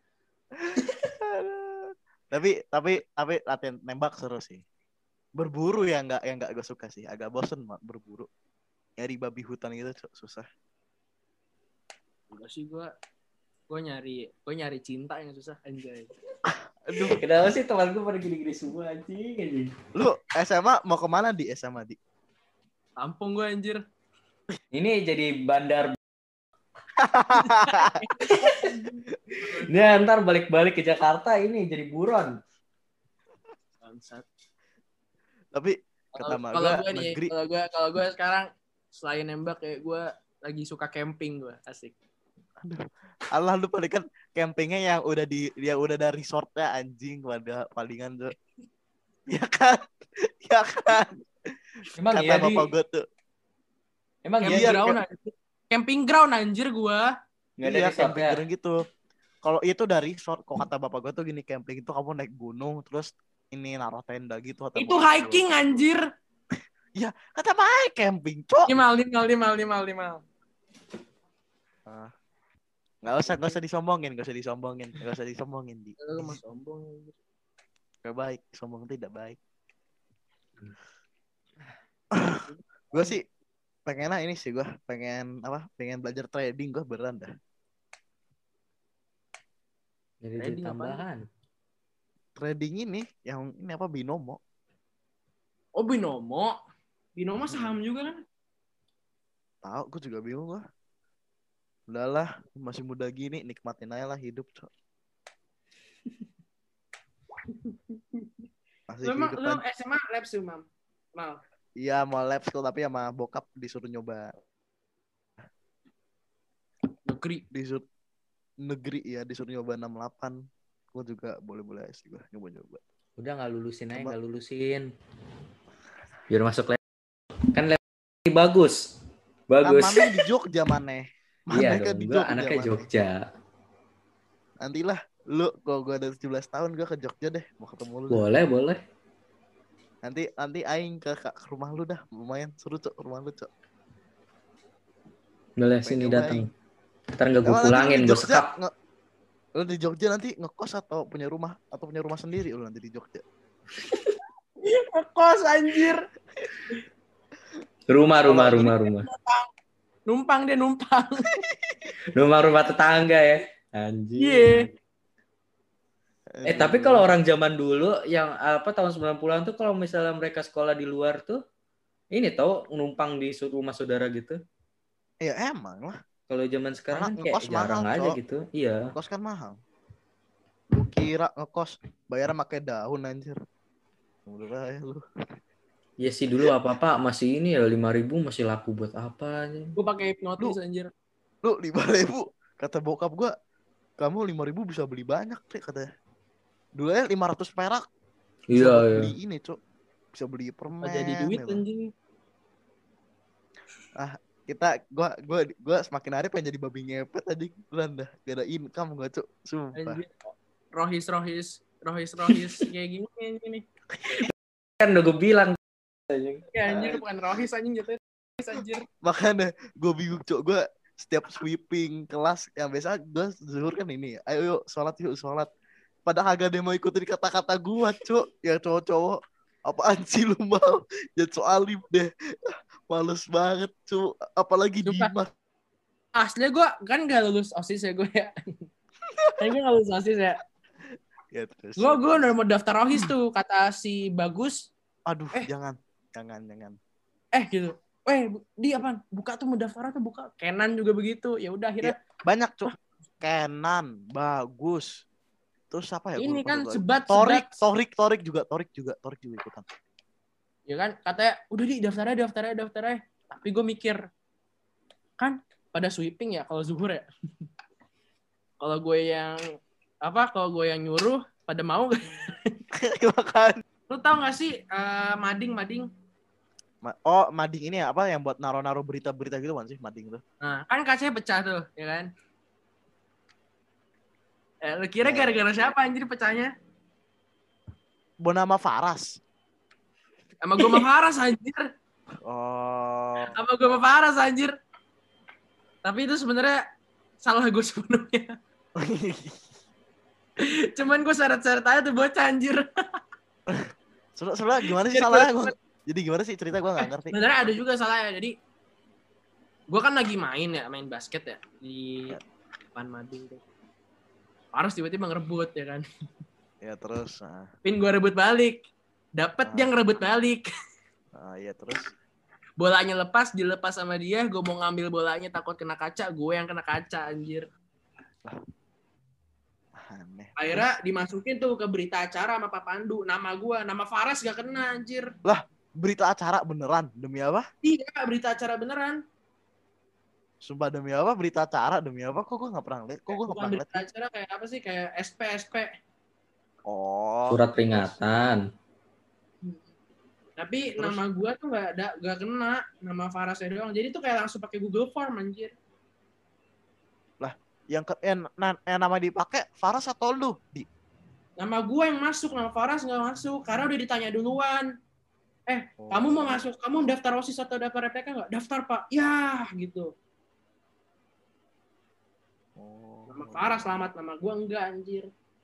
tapi latihan nembak seru sih. Berburu yang nggak gue suka sih, agak bosen berburu. Nyari babi hutan gitu susah. Enggak sih gue nyari cinta yang susah anjay. Aduh, Kenapa sih teman gue pada gini-gini semua anjing. lu SMA mau kemana di SMA di? Tampung gue anjir. Ini jadi bandar. Dia ntar balik-balik ke Jakarta ini jadi buron. Bangsat. Tapi kata mak Kalau gue gue nih, negeri. kalau gue sekarang selain nembak kayak gue lagi suka camping gue, asik. Allah lu paling kan campingnya yang udah dari resortnya anjing pada palingan tuh. Ya kan? Emang Kata iya di. bapak gue tuh. Emang Camping iya ground anjir. Camping ground anjir gue. nggak ada Iya, resortnya. camping ground gitu. Kalau itu dari resort, kok kata bapak gue tuh gini, camping itu kamu naik gunung terus ini naruh tenda gitu. Kata Itu bapak hiking gua. anjir. Ya, kata baik camping, cok. 5. Nggak usah disombongin, di. Lu mah sombong anjir. Gak baik, sombong tidak baik. Gue sih pengennya ini sih, gue pengen belajar trading, gue beneran dah. Jadi Trading tambahan. Trading ini yang ini apa binomo. Oh binomo. Binomo saham juga kan? Tahu, gue juga bingung gue. Udahlah, masih muda gini, nikmatin aja lah hidup, cok. Masih Lu emang kehidupan. SMA lab sih, Mam. Mal. Iya, mau lab school tapi sama bokap disuruh nyoba. Negeri ya, disuruh nyoba 68. Gue juga boleh-boleh aja sih gue nyoba-nyoba. Udah nggak lulusin aja, Coba. nggak lulusin. Biar masuk lab. Kan lab ini bagus. Kan mana di Jogja mana? Iya Kan dong, di gua anaknya mana? Jogja. Nantilah Lu kalau gue ada 17 tahun gue ke Jogja deh, mau ketemu lu. Boleh. Nanti aing ke rumah lu dah, lumayan seru cok rumah lu cok. Boleh sini datang. Ntar nggak gue Emang pulangin, gue sekap. Lu di Jogja nanti ngekos atau punya rumah sendiri lu nanti di Jogja? Ngekos anjir. Rumah. Numpang. Rumah tetangga ya. Anjir. Iya. Tapi kalau orang zaman dulu yang tahun 90-an tuh kalau misalnya mereka sekolah di luar tuh ini tahu numpang di rumah saudara gitu. Ya emang lah. Kalau zaman sekarang kan kayak jarang mahal, aja gitu. Iya. Ngekos kan mahal. Lu kira ngekos bayar pakai daun anjir. Udah ya lu. Ya sih dulu apa-apa masih ini ya 5.000 masih laku buat apa aja. Gue pakai hipnotis anjir. Lu 5.000 kata bokap gua, kamu 5.000 bisa beli banyak deh katanya. Dulu ya 500 perak. Iya. Beli ini, Cuk. Bisa beli permen. Jadi duit anjing. Gua semakin hari pengen jadi babi ngepet tadi. Bulan dah gak ada income gua, Cuk. Sumpah. Rohis kayak gini. Kan udah gue bilang ya anjir bukan rohis anjing jatuhnya anjir. Makanya gue bingung Cuk. Gue setiap sweeping kelas yang biasa gue zuhur kan ini. Ayo yuk sholat. Padahal agak dia mau ikutin kata-kata gue Cuk. Yang cowok-cowok apaan sih lu mau jadi soalib deh. Males banget Cuk. Apalagi Dimas. Aslinya gue kan gak lulus OSIS ya gue ya. Kan gue gak lulus OSIS ya. Gue udah mau daftar rohis tuh kata si Bagus. Aduh jangan. Gitu. Di apaan? Buka tuh mau daftar tuh buka. Kenan juga begitu. Ya udah akhirnya banyak Cuk. Kenan, Bagus. Terus apa ya? Ini kan sebat. Torik juga ikutan. Ya kan katanya udah daftar aja. Tapi gue mikir kan pada sweeping ya kalau zuhur ya. Kalau gue yang nyuruh pada mau gak? Makan. Lu tau gak sih mading? Mading ini ya apa yang buat naruh berita-berita gitu kan sih mading tuh. Nah, kan kacanya pecah tuh, ya kan? Lu kira gara-gara siapa anjir pecahnya? Bonama Faras. Sama gue sama Faras anjir. Sama gue sama Faras anjir. Tapi itu sebenarnya salah gue sepenuhnya. Cuman gue seret-seret aja tuh bocah anjir. Soalnya gimana sih salahnya? Jadi gimana sih cerita gue gak ngerti. Sebenarnya ada juga salahnya. Jadi gue kan lagi main basket ya di depan mading tuh. Faras tiba-tiba ngerebut ya kan. Ya terus. Pin gue rebut balik. Dapet dia ngerebut balik. Iya terus. Bolanya dilepas sama dia. Gue mau ngambil bolanya takut kena kaca. Gue yang kena kaca anjir. Aneh. Akhirnya dimasukin tuh ke berita acara sama Pak Pandu. Nama Faras gak kena anjir. Lah berita acara beneran? Demi apa? Iya berita acara beneran. Sumpah demi apa? Berita acara demi apa? Kok gue gak pernah lihat? Berita acara kayak apa sih? Kayak SP. Surat peringatan. Tapi terus? Nama gue tuh gak kena. Nama Farasnya doang. Jadi tuh kayak langsung pakai Google Form anjir. Lah yang nama dipakai Faras atau lu? Nama gue yang masuk, nama Faras nggak masuk karena udah ditanya duluan. Kamu mau masuk, kamu daftar OSIS atau daftar RPK nggak? Daftar Pak. Ya gitu. Nama Faras selamat, nama gue enggak anjir.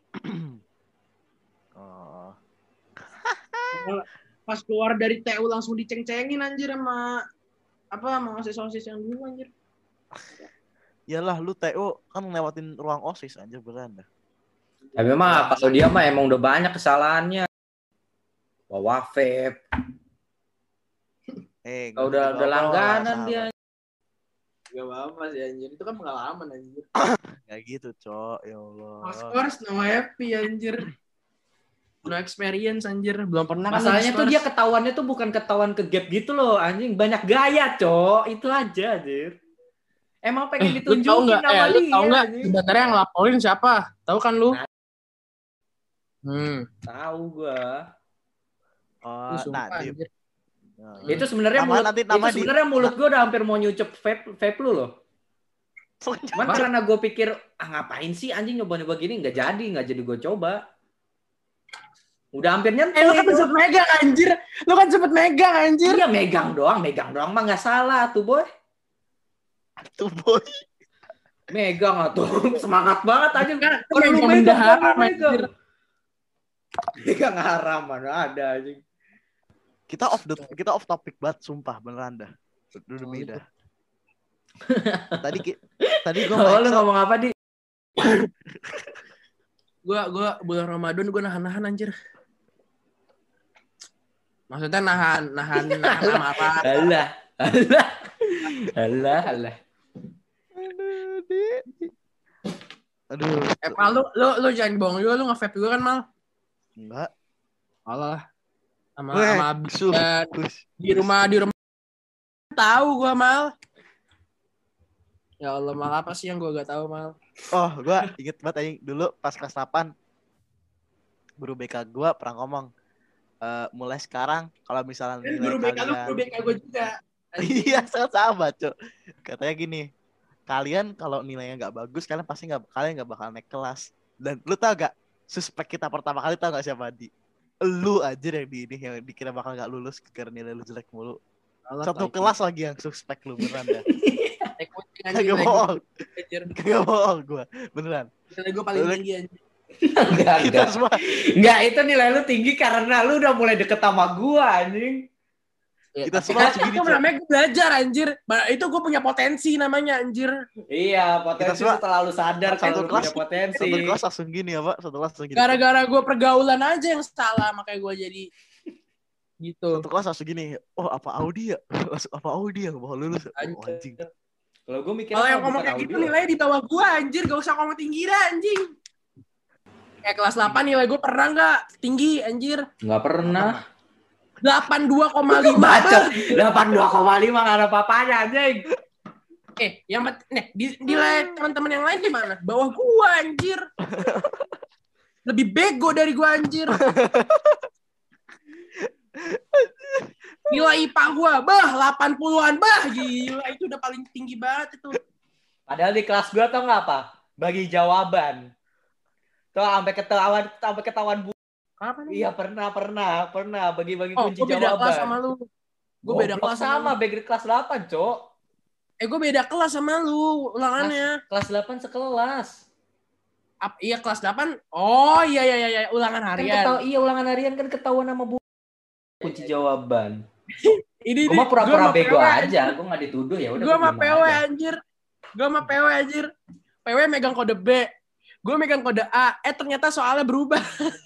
Pas keluar dari TU langsung diceng-cengin anjir sama OSIS yang dulu anjir. Yalah lu TU kan ngelewatin ruang OSIS anjir beneran dah. Tapi memang kalau dia mah emang udah banyak kesalahannya. Bawa vape. Udah langganan dia. Gak apa-apa sih anjir. Itu kan pengalaman anjir. Gak gitu cok. Ya Allah. Of course no happy anjir. No experience anjir. Belum pernah. Masalahnya tuh dia ketahuannya tuh bukan ketahuan ke gap gitu loh anjing. Banyak gaya cok. Itu aja anjir. Emang pengen ditunjukin sama dia. Lu tau gak sebenarnya yang laporin siapa? Tahu kan lu? Tahu gua. Nadib. Itu sebenarnya mulut gua udah hampir mau nyucep vape lu loh. Cuman karena gue pikir ngapain sih anjing nyoba-nyoba gini, nggak jadi gue coba. Udah hampir nyentuh. Lu kan sempet megang anjir. Iya megang doang mah nggak salah tuh boy. Megang tuh semangat banget aja kan. Kalau lu megang. Megang haram mana ada anjing. Kita off topic banget sumpah beneran dah. Demi dah. Tadi gue lu ngomong apa di? Gua bulan Ramadan gue nahan anjir. Maksudnya nahan amarah. Alah. Aduh. Mal lu jangan bohong juga, lu nge-vape juga kan Mal? Enggak. Alah. Sama abis di rumah tahu gua Mal. Ya Allah, Mal apa sih yang gua gak tahu Mal? Oh, gua inget banget anjing dulu pas kelas 8 guru BK gua pernah ngomong mulai sekarang kalau misalnya guru BK lu guru BK gua juga. Iya, sama, Cok. Katanya gini, kalian kalau nilainya nggak bagus, kalian nggak bakal naik kelas. Dan lu tau gak, suspek kita pertama kali tau gak siapa? Lu aja yang dikira bakal nggak lulus karena nilai lu jelek mulu. Satu kelas lagi yang suspek lu beneran dah. Kagak bohong gue beneran. Nilai gue paling tinggi anjir. Enggak, itu nilai lu tinggi karena lu udah mulai deket sama gua anjing. Kita semua segini. Itu namanya gue belajar anjir. Itu gue punya potensi namanya anjir. Iya, potensi setelah lu sadar kalau lu punya potensi. Satu kelas langsung gini ya, Pak. Satu kelas langsung gini. Gara-gara gue pergaulan aja yang salah makanya gue jadi gitu. Satu kelas langsung gini. Oh, apa Audi ya? Apa Audi ya? Bakal lulus. Oh, anjing. Kalau gue mikir kalau yang ngomong kayak gitu nilainya di bawah gue anjir. Gak usah ngomong tinggi dah anjing. Kayak kelas 8 nilai gue pernah gak tinggi anjir? Gak pernah. 82,5. Baca. 82,5 gak ada apa-apanya anjing. Yang nilai teman-teman yang lain gimana? Bawah gue anjir. Lebih bego dari gue anjir. Nilai IPA gue, 80-an, gila itu udah paling tinggi banget itu. Padahal di kelas gue tau nggak apa? Bagi jawaban. Tuh sampai ketahuan Apa nih? Iya pernah bagi-bagi kunci jawaban. Gue beda kelas sama lu. Gue beda kelas sama bagi kelas 8, Cok. Gue beda kelas sama lu ulangannya. Kelas 8 sekelas. Iya kelas 8. Oh iya ulangan harian. Kan ulangan harian kan ketahuan sama bu kunci jawaban. Ini gue mah pura-pura bego aja, gue nggak dituduh ya udah. Gue sama PW anjir. PW megang kode B, gue megang kode A. Ternyata soalnya berubah.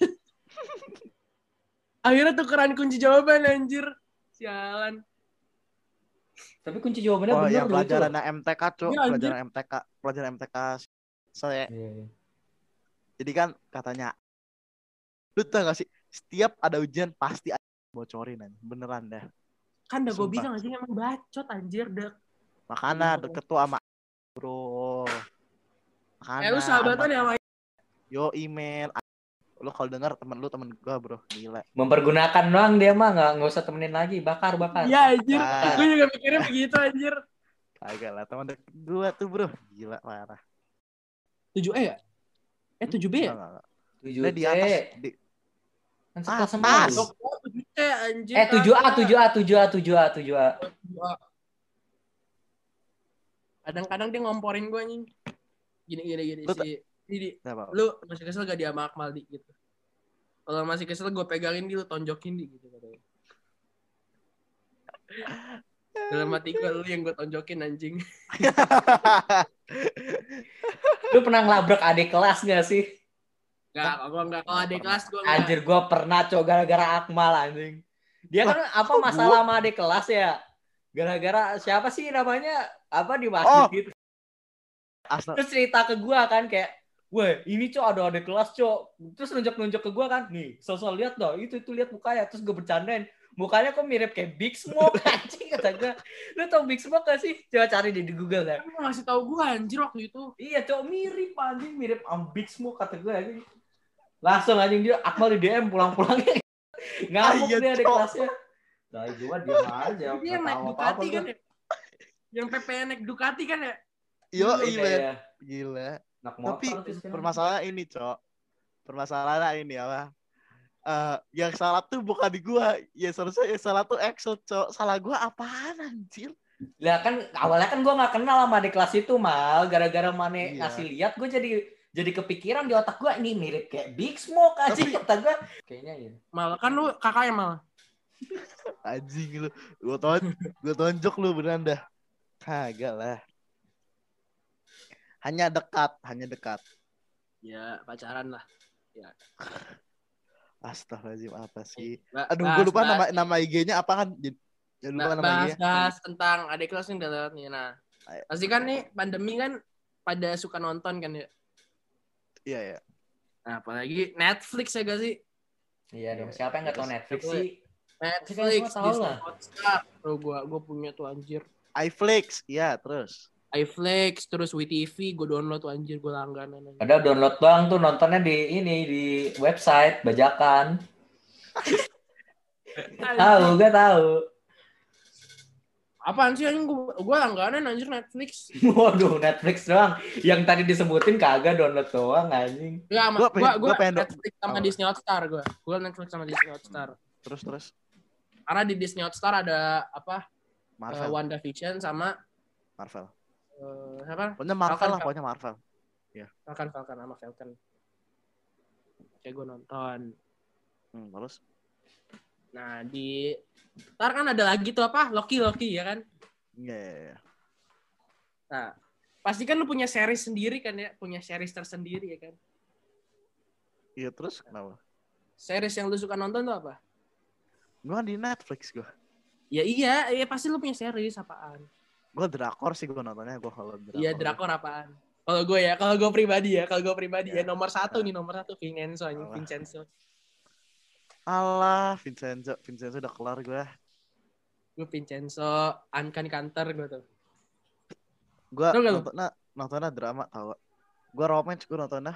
Akhirnya tukeran kunci jawaban anjir. Sialan. Tapi kunci jawabannya benar. Oh, yang pelajaran MTK, Cok. Pelajaran MTK. Saya. Yeah. Jadi kan katanya, lu tau gak sih, setiap ada ujian pasti bocorin aja. Beneran dah. Kan udah gue bilang aja emang bacot anjir dek. Makanya deket tuh sama bro. Makanya lu sahabatan ya sama yo email. Lu kalau denger temen gue bro. Gila. Mempergunakan doang dia mah nggak usah temenin lagi. Bakar. Iya anjir. Gue juga mikirnya begitu anjir. Kagak lah teman deket gue tuh bro. Gila parah. 7E ya? 7B ya? 7C. Di atas. Kan sekelas sama lu. 7C anjir. 7A. Kadang-kadang dia ngomporin gue anjing. Gini sih. Lu masih kesel gak dia sama Akmal di gitu. Kalau masih kesel gue pegangin dia, lu tonjokin di gitu katanya. Dalam hati gue lu yang gue tonjokin anjing. Lu pernah ngelabrak adik kelas gak sih? Enggak. Kalau adik kelas gue enggak. Anjir gue pernah gara-gara Akmal anjing. Dia kan masalah sama adik kelas ya. Gara-gara siapa sih namanya? Di masjid gitu. Terus cerita ke gue kan kayak, weh ini ada adik kelas Terus nunjuk ke gue kan, nih sosok lihat dah itu lihat mukanya. Terus gue bercandain, mukanya kok mirip kayak Big Smoke anjing kata gue. Lu tau Big Smoke gak sih? Coba cari di Google dah. Lu ngasih tau gue anjir waktu itu. Iya mirip anjing, mirip Big Smoke kata gue anjing. Langsung anjing dia Akmal di DM pulang-pulangnya. Ngamuk dia adik kelasnya. Nah gue diam aja. Dia naik Ducati kan ya? Yang PP naik Ducati kan ya? Yo, Iya, men. iya. Gila. Anak Tapi motor tuh sekarang. permasalahan ini, Cok. Permasalahan ini apa? Yang salah tuh bukan di gua. Ya seharusnya yang salah tuh Excel, Cok. Salah gua apaan anjir? Lah kan awalnya kan gue nggak kenal sama adik kelas itu mal, gara-gara Mane Iya. ngasih lihat gue jadi kepikiran di otak gue ini mirip kayak Big Smoke aja kata gue. Kayaknya ya. Malah kan lu kakaknya malah. Anjing lu. Gua tonjok lu beneran dah. Kagak lah. Hanya dekat. Ya pacaran lah. Astagfirullahaladzim apa sih? Ba- Aduh, bahas- gue lupa bahas- nama IG-nya apa kan? Jangan lupa nama IG-nya. bahas tentang adik kelas yang udah lewat nih. Nah, Ayo. pasti kan nih pandemi kan pada suka nonton kan ya. Iya ya. Nah, apalagi Netflix ya gak sih? Iya dong. Siapa yang nggak tahu Netflix Siapa? sih? Netflix, semua tahu Disney lah. Hotstar. Bro, gue punya tuh anjir. iFlix, iya terus. iFlix, terus WeTV, gue download tuh anjir, gue langganan anjir. Ada download doang tuh nontonnya di website bajakan. Tahu gak tahu. Apaan sih anjing, gue langganan anjir Netflix. Waduh Netflix doang. Yang tadi disebutin kagak download doang anjing. Ya, Gua gue pengen Netflix sama apa? Disney Hotstar gue. Gue Netflix sama Disney Hotstar. Terus. Karena di Disney Hotstar ada apa? Marvel. WandaVision sama siapa? Pokoknya Marvel Falcon, lah, pokoknya Marvel. Falcon sama Falcon. Kayak gue nonton. Terus? Nah, ntar kan ada lagi tuh apa? Loki ya kan? Iya. Nah, pasti kan lu punya series sendiri kan ya? Punya series tersendiri ya kan? Iya terus kenapa? Series yang lu suka nonton tuh apa? Gua di Netflix gua. Ya iya pasti lu punya series apaan? Gua drakor sih gua nontonnya, gua kalau drakor. Iya, drakor apaan? Kalau gue pribadi ya, Ya. nomor satu Vincenzo anjing, Vincenzo. Alah, Vincenzo udah kelar gua. Gue Vincenzo, Uncanny Hunter gue tuh. Gua Tau gak lu? nontonnya drama tau. Gua romance gua nontonnya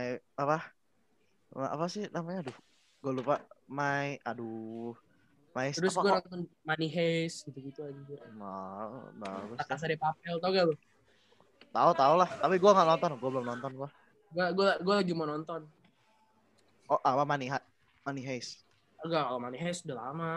apa sih namanya? Gua lupa. My Terus apa gue kok? nonton Money Heist gitu-gitu anjir. Bagus. La Casa de Papel, tau gak lu? Tahu lah, tapi gua nggak nonton, gua belum nonton gua. Gue lagi mau nonton. Oh, apa Money Heist. Enggak, kalau Money Heist udah lama.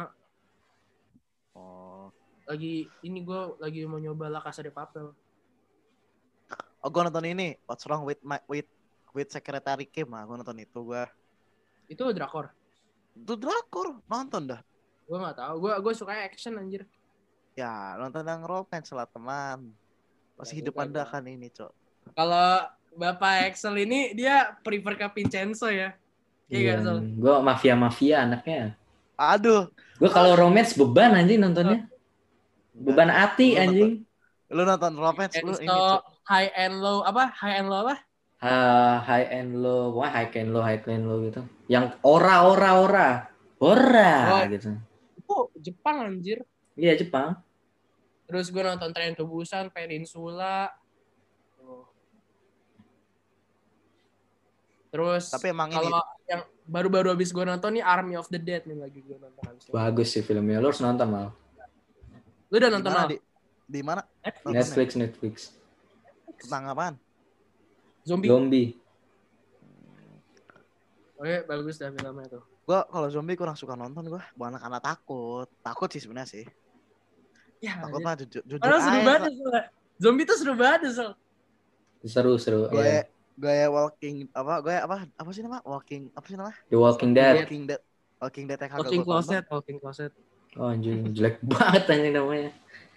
Oh, Gue lagi mau nyoba La Casa de Papel. gua nonton ini. What's Wrong with Secretary Kim? Gua nonton itu gua. Itu drakor. Itu drakor, nonton dah. Gue nggak tahu. Gue suka action anjir. Ya, nonton yang romance lah teman. Masih Ya, hidup bukan, Anda Bang. kan ini, Cok. Kalau Bapak Excel ini dia prefer ke Vincenzo ya. Iya, Sol. Gue mafia anaknya. Aduh, Gue kalau romance beban anjing nontonnya. Beban hati Lu anjing. lu nonton romance lu ini, Vincenzo, Cok. High and Low apa? High and low, wah high and low gitu. Yang ora gitu. Oh, Jepang anjir. Iya Jepang. Terus gue nonton Train to Busan, Peninsula. Terus Tapi emang ini kalau yang baru-baru habis gue nonton nih Army of the Dead nih lagi gue nonton habis. Bagus sih filmnya. Lu harus nonton mal. Lu udah nonton mana apa? di mana? Netflix. Tentang apaan? Zombie. Oke, bagus dah filmnya tuh. Gua kalau zombie kurang suka nonton gua. Bukan karena takut. Takut sih sebenarnya sih. Ya, Takut mah jujur padahal seru aja. banget Sol. Zombie tuh seru banget Sol. Seru. Iya. Gue apa sih nama? Apa sih nama? The Walking Dead. Walking Dead yang kagak Walking gua tonton. Closet. Oh anjing jelek banget anjing namanya.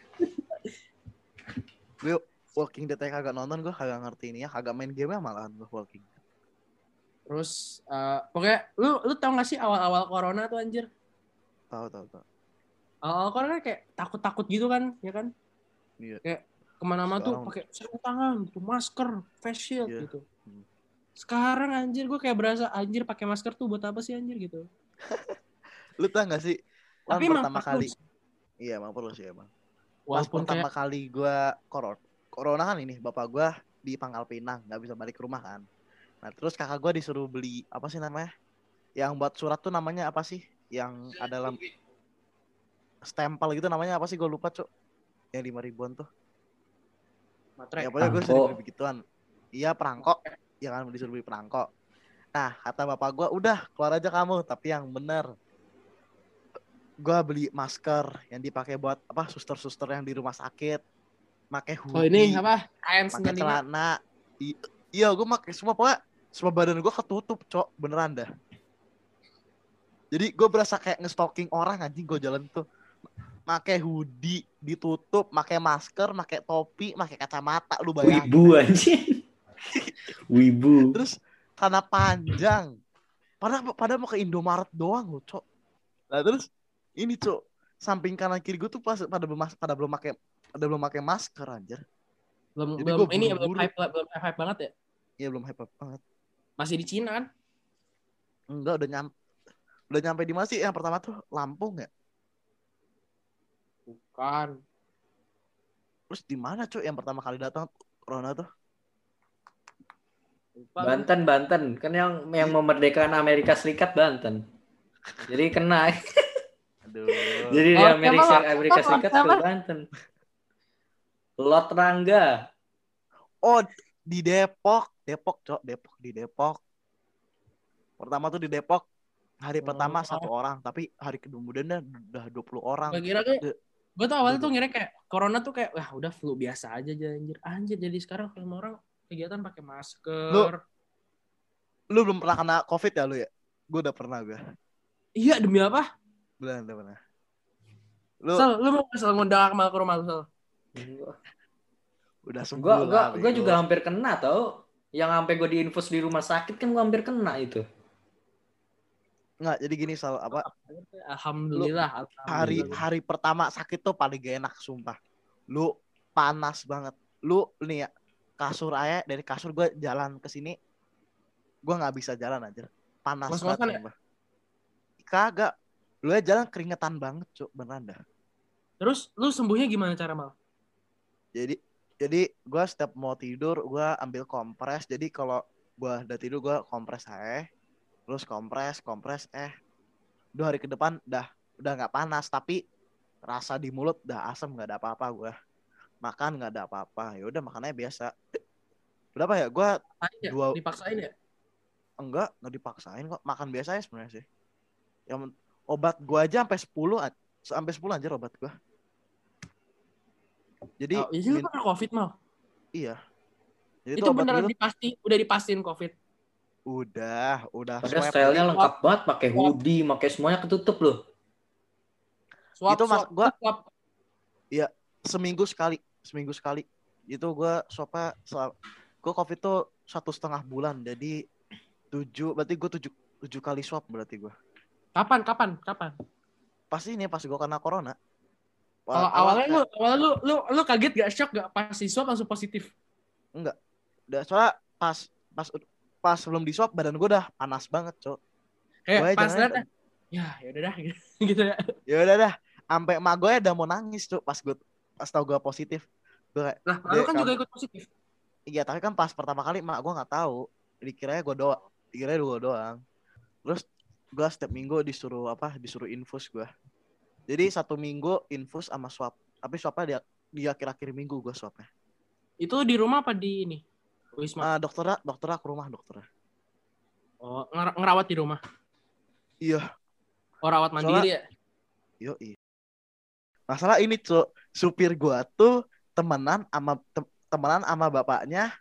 Gue Walking Dead yang kagak nonton, gue kagak ngerti ini ya, kagak main game malahan gue Walking Dead. Terus pokoknya lu tau gak sih awal-awal corona tuh anjir? Tahu. Awal corona kayak takut-takut gitu kan, ya kan? Iya. Kayak kemana-mana tuh Sekarang- pakai sarung tangan, gitu, masker, face shield Iya. gitu. Sekarang anjir gue kayak berasa anjir pakai masker tuh buat apa sih anjir gitu. Lu tau gak sih? Tapi Pas emang pertama perlu kali. sih. Iya emang perlu sih emang. Pas Walaupun pertama kayak kali gue corona kan ini, bapak gue di Pangkal Pinang, nggak bisa balik ke rumah kan. Nah terus kakak gue disuruh beli apa sih namanya? Yang buat surat tuh namanya apa sih? Yang ada dalam stempel gitu namanya apa sih? Gue lupa, Cuk. Yang 5 ribuan tuh. Lotre. Ya pokoknya gue Perangko. sering beli begituan. Iya perangkok. Ya kan disuruh beli perangkok. Nah kata bapak gue, udah keluar aja kamu. Tapi yang bener. Gue beli masker yang dipakai buat apa suster-suster yang di rumah sakit. Pakai Oh ini hoodie. apa? Pakai KN95. celana. Iya gue pakai semua. Pokoknya semua badan gue ketutup cok. Beneran dah. Jadi gue berasa kayak nge-stalking orang anjing gue jalan tuh. Pakai hoodie ditutup, pakai masker, pakai topi, pakai kacamata, lu bayangin. Wibu anjing. Wibu. Terus tanah panjang. Padahal mau ke Indomaret doang loh, Cok. Nah, terus ini, Cok. Samping kanan kiri gue tuh pada belum pakai masker anjir. Jadi Belum gua ini buru-buru. belum hype banget ya? Iya, belum hype banget. Masih di Cina kan? Enggak, udah nyampe di mana sih? Yang pertama tuh Lampung ya. Bukan. Terus di mana, Cok, yang pertama kali datang corona tuh? Lupa. Banten. Kan yang memerdekakan Amerika Serikat Banten. Jadi kena. Aduh. Jadi di Amerika Serikat ke apa? Banten. Lot Rangga. Oh, di Depok, Cok. Di Depok. Pertama tuh di Depok. Hari pertama 1 orang, tapi hari kemudian udah 20 orang. Gue tuh awalnya tuh ngira kayak corona tuh kayak wah udah flu biasa aja anjir. Jadi sekarang semua orang kegiatan pakai masker. Lu belum pernah kena COVID ya lu ya? Gue udah pernah gue. Iya demi apa? Udah pernah. Lu mau ngundang Akmal ke rumah lu, Sal? Udah sembuh lah. Gue juga hampir kena tau. Yang sampai gue diinfus di rumah sakit kan gue hampir kena itu. Enggak, jadi gini Sal, apa? Alhamdulillah. Hari pertama sakit tuh paling gak enak sumpah. Lu panas banget. Lu nih ya, dari kasur gue jalan ke sini gue nggak bisa jalan aja. Panas banget sumpah. Kagak. Lu ya jalan keringetan banget, Cuk, beneran dah. Terus lu sembuhnya gimana cara mal? Jadi gue setiap mau tidur gue ambil kompres. Jadi kalau gue udah tidur gue kompres aja. Terus kompres 2 hari ke depan udah nggak panas, tapi rasa di mulut udah asam, nggak ada apa-apa gue. Makan nggak ada apa-apa. Ya udah makannya biasa. Berapa ya? Gue dipaksain ya? Enggak dipaksain kok. Makan biasa ya sebenarnya sih. Yang obat gue aja sampai 10 anjir obat gue. Jadi lu pernah COVID mal? Iya. Jadi itu beneran udah dipastiin COVID? Udah. Padahal stylenya lengkap banget, pakai hoodie, pakai semuanya ketutup loh. Itu mas gue. Iya, seminggu sekali. Itu gue swabnya. Gue COVID tuh 1,5 bulan. Jadi 7, berarti gue 7 kali swab berarti gue. Kapan? Pas gue kena corona. Kalau awalnya lu kaget gak, shock gak pas di swab langsung positif? Enggak. Udah soalnya pas sebelum di swab badan gue udah panas banget, Cok. Kayak pas lihat ya udah dah gitu ya. Ya udah dah. Sampai emak gue udah mau nangis, Cok, pas tahu gue positif. Gue kayak, lu kan juga ikut positif. Iya, tapi kan pas pertama kali emak gue enggak tahu. Dikiranya gue doang. Terus gue setiap minggu disuruh infus gue. Jadi 1 minggu infus sama swab. Tapi swabnya di akhir-akhir minggu gue swabnya. Itu di rumah apa di ini? Wisma? Dokternya ke rumah dokternya. Oh, ngerawat di rumah? Iya. Oh, rawat mandiri ya? Yoi. Masalah ini, Cuk. Supir gue tuh temenan sama bapaknya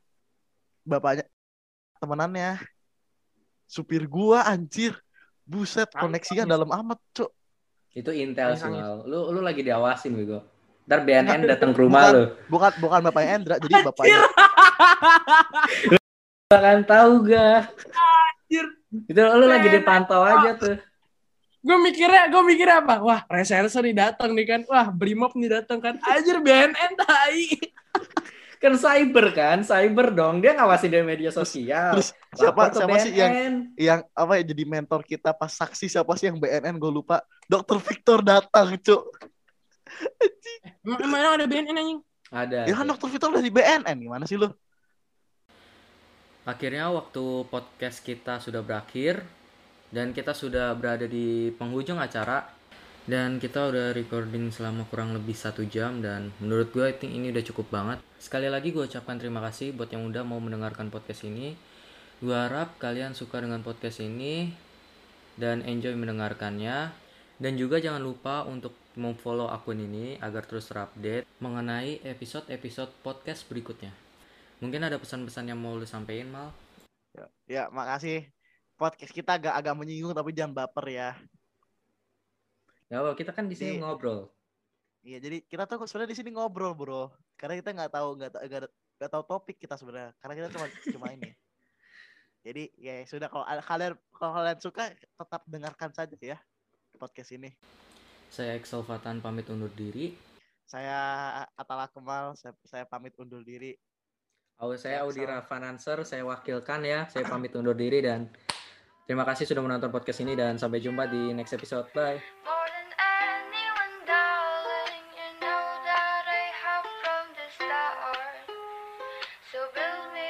temenannya. Supir gue anjir. Buset, koneksinya dalam amat, Cuk. Itu intel sih, Mal. Lu lagi diawasin, Bego. Ntar BNN datang ke rumah lu. Bukan bapaknya Endra, jadi bapaknya. Bahkan tahu gak? Anjir. Itu lu lagi dipantau aja tuh. Gue mikirnya apa? Wah, reserse nih datang nih kan. Wah, Brimob nih datang kan. Anjir, BNN tai. Kan cyber dong. Dia ngawasin dari media sosial. Terus siapa sih yang apa ya jadi mentor kita pas saksi, siapa sih yang BNN, gue lupa. Dr. Victor datang, Cuk. Emang ada BNN anjing? Ada. Ya kan Dr. Victor udah di BNN, gimana sih lu? Akhirnya waktu podcast kita sudah berakhir dan kita sudah berada di penghujung acara. Dan kita udah recording selama kurang lebih 1 jam. Dan menurut gue I think ini udah cukup banget. Sekali lagi gue ucapkan terima kasih buat yang udah mau mendengarkan podcast ini. Gue harap kalian suka dengan podcast ini dan enjoy mendengarkannya. Dan juga jangan lupa untuk memfollow akun ini agar terus terupdate mengenai episode-episode podcast berikutnya. Mungkin ada pesan-pesan yang mau lu sampein, Mal? Ya, makasih. Podcast kita agak menyinggung tapi jangan baper ya. Ya, kita kan di sini ngobrol. Iya, jadi kita tuh sebenarnya di sini ngobrol, bro. Karena kita nggak tahu topik kita sebenarnya. Karena kita cuma ini. Jadi ya sudah, kalau kalian suka tetap dengarkan saja ya podcast ini. Saya Excel Fatan pamit undur diri. Saya Atala Kemal, saya pamit undur diri. Saya Audi Rafananser, saya wakilkan ya. Saya pamit undur diri dan terima kasih sudah menonton podcast ini dan sampai jumpa di next episode. Bye. So build me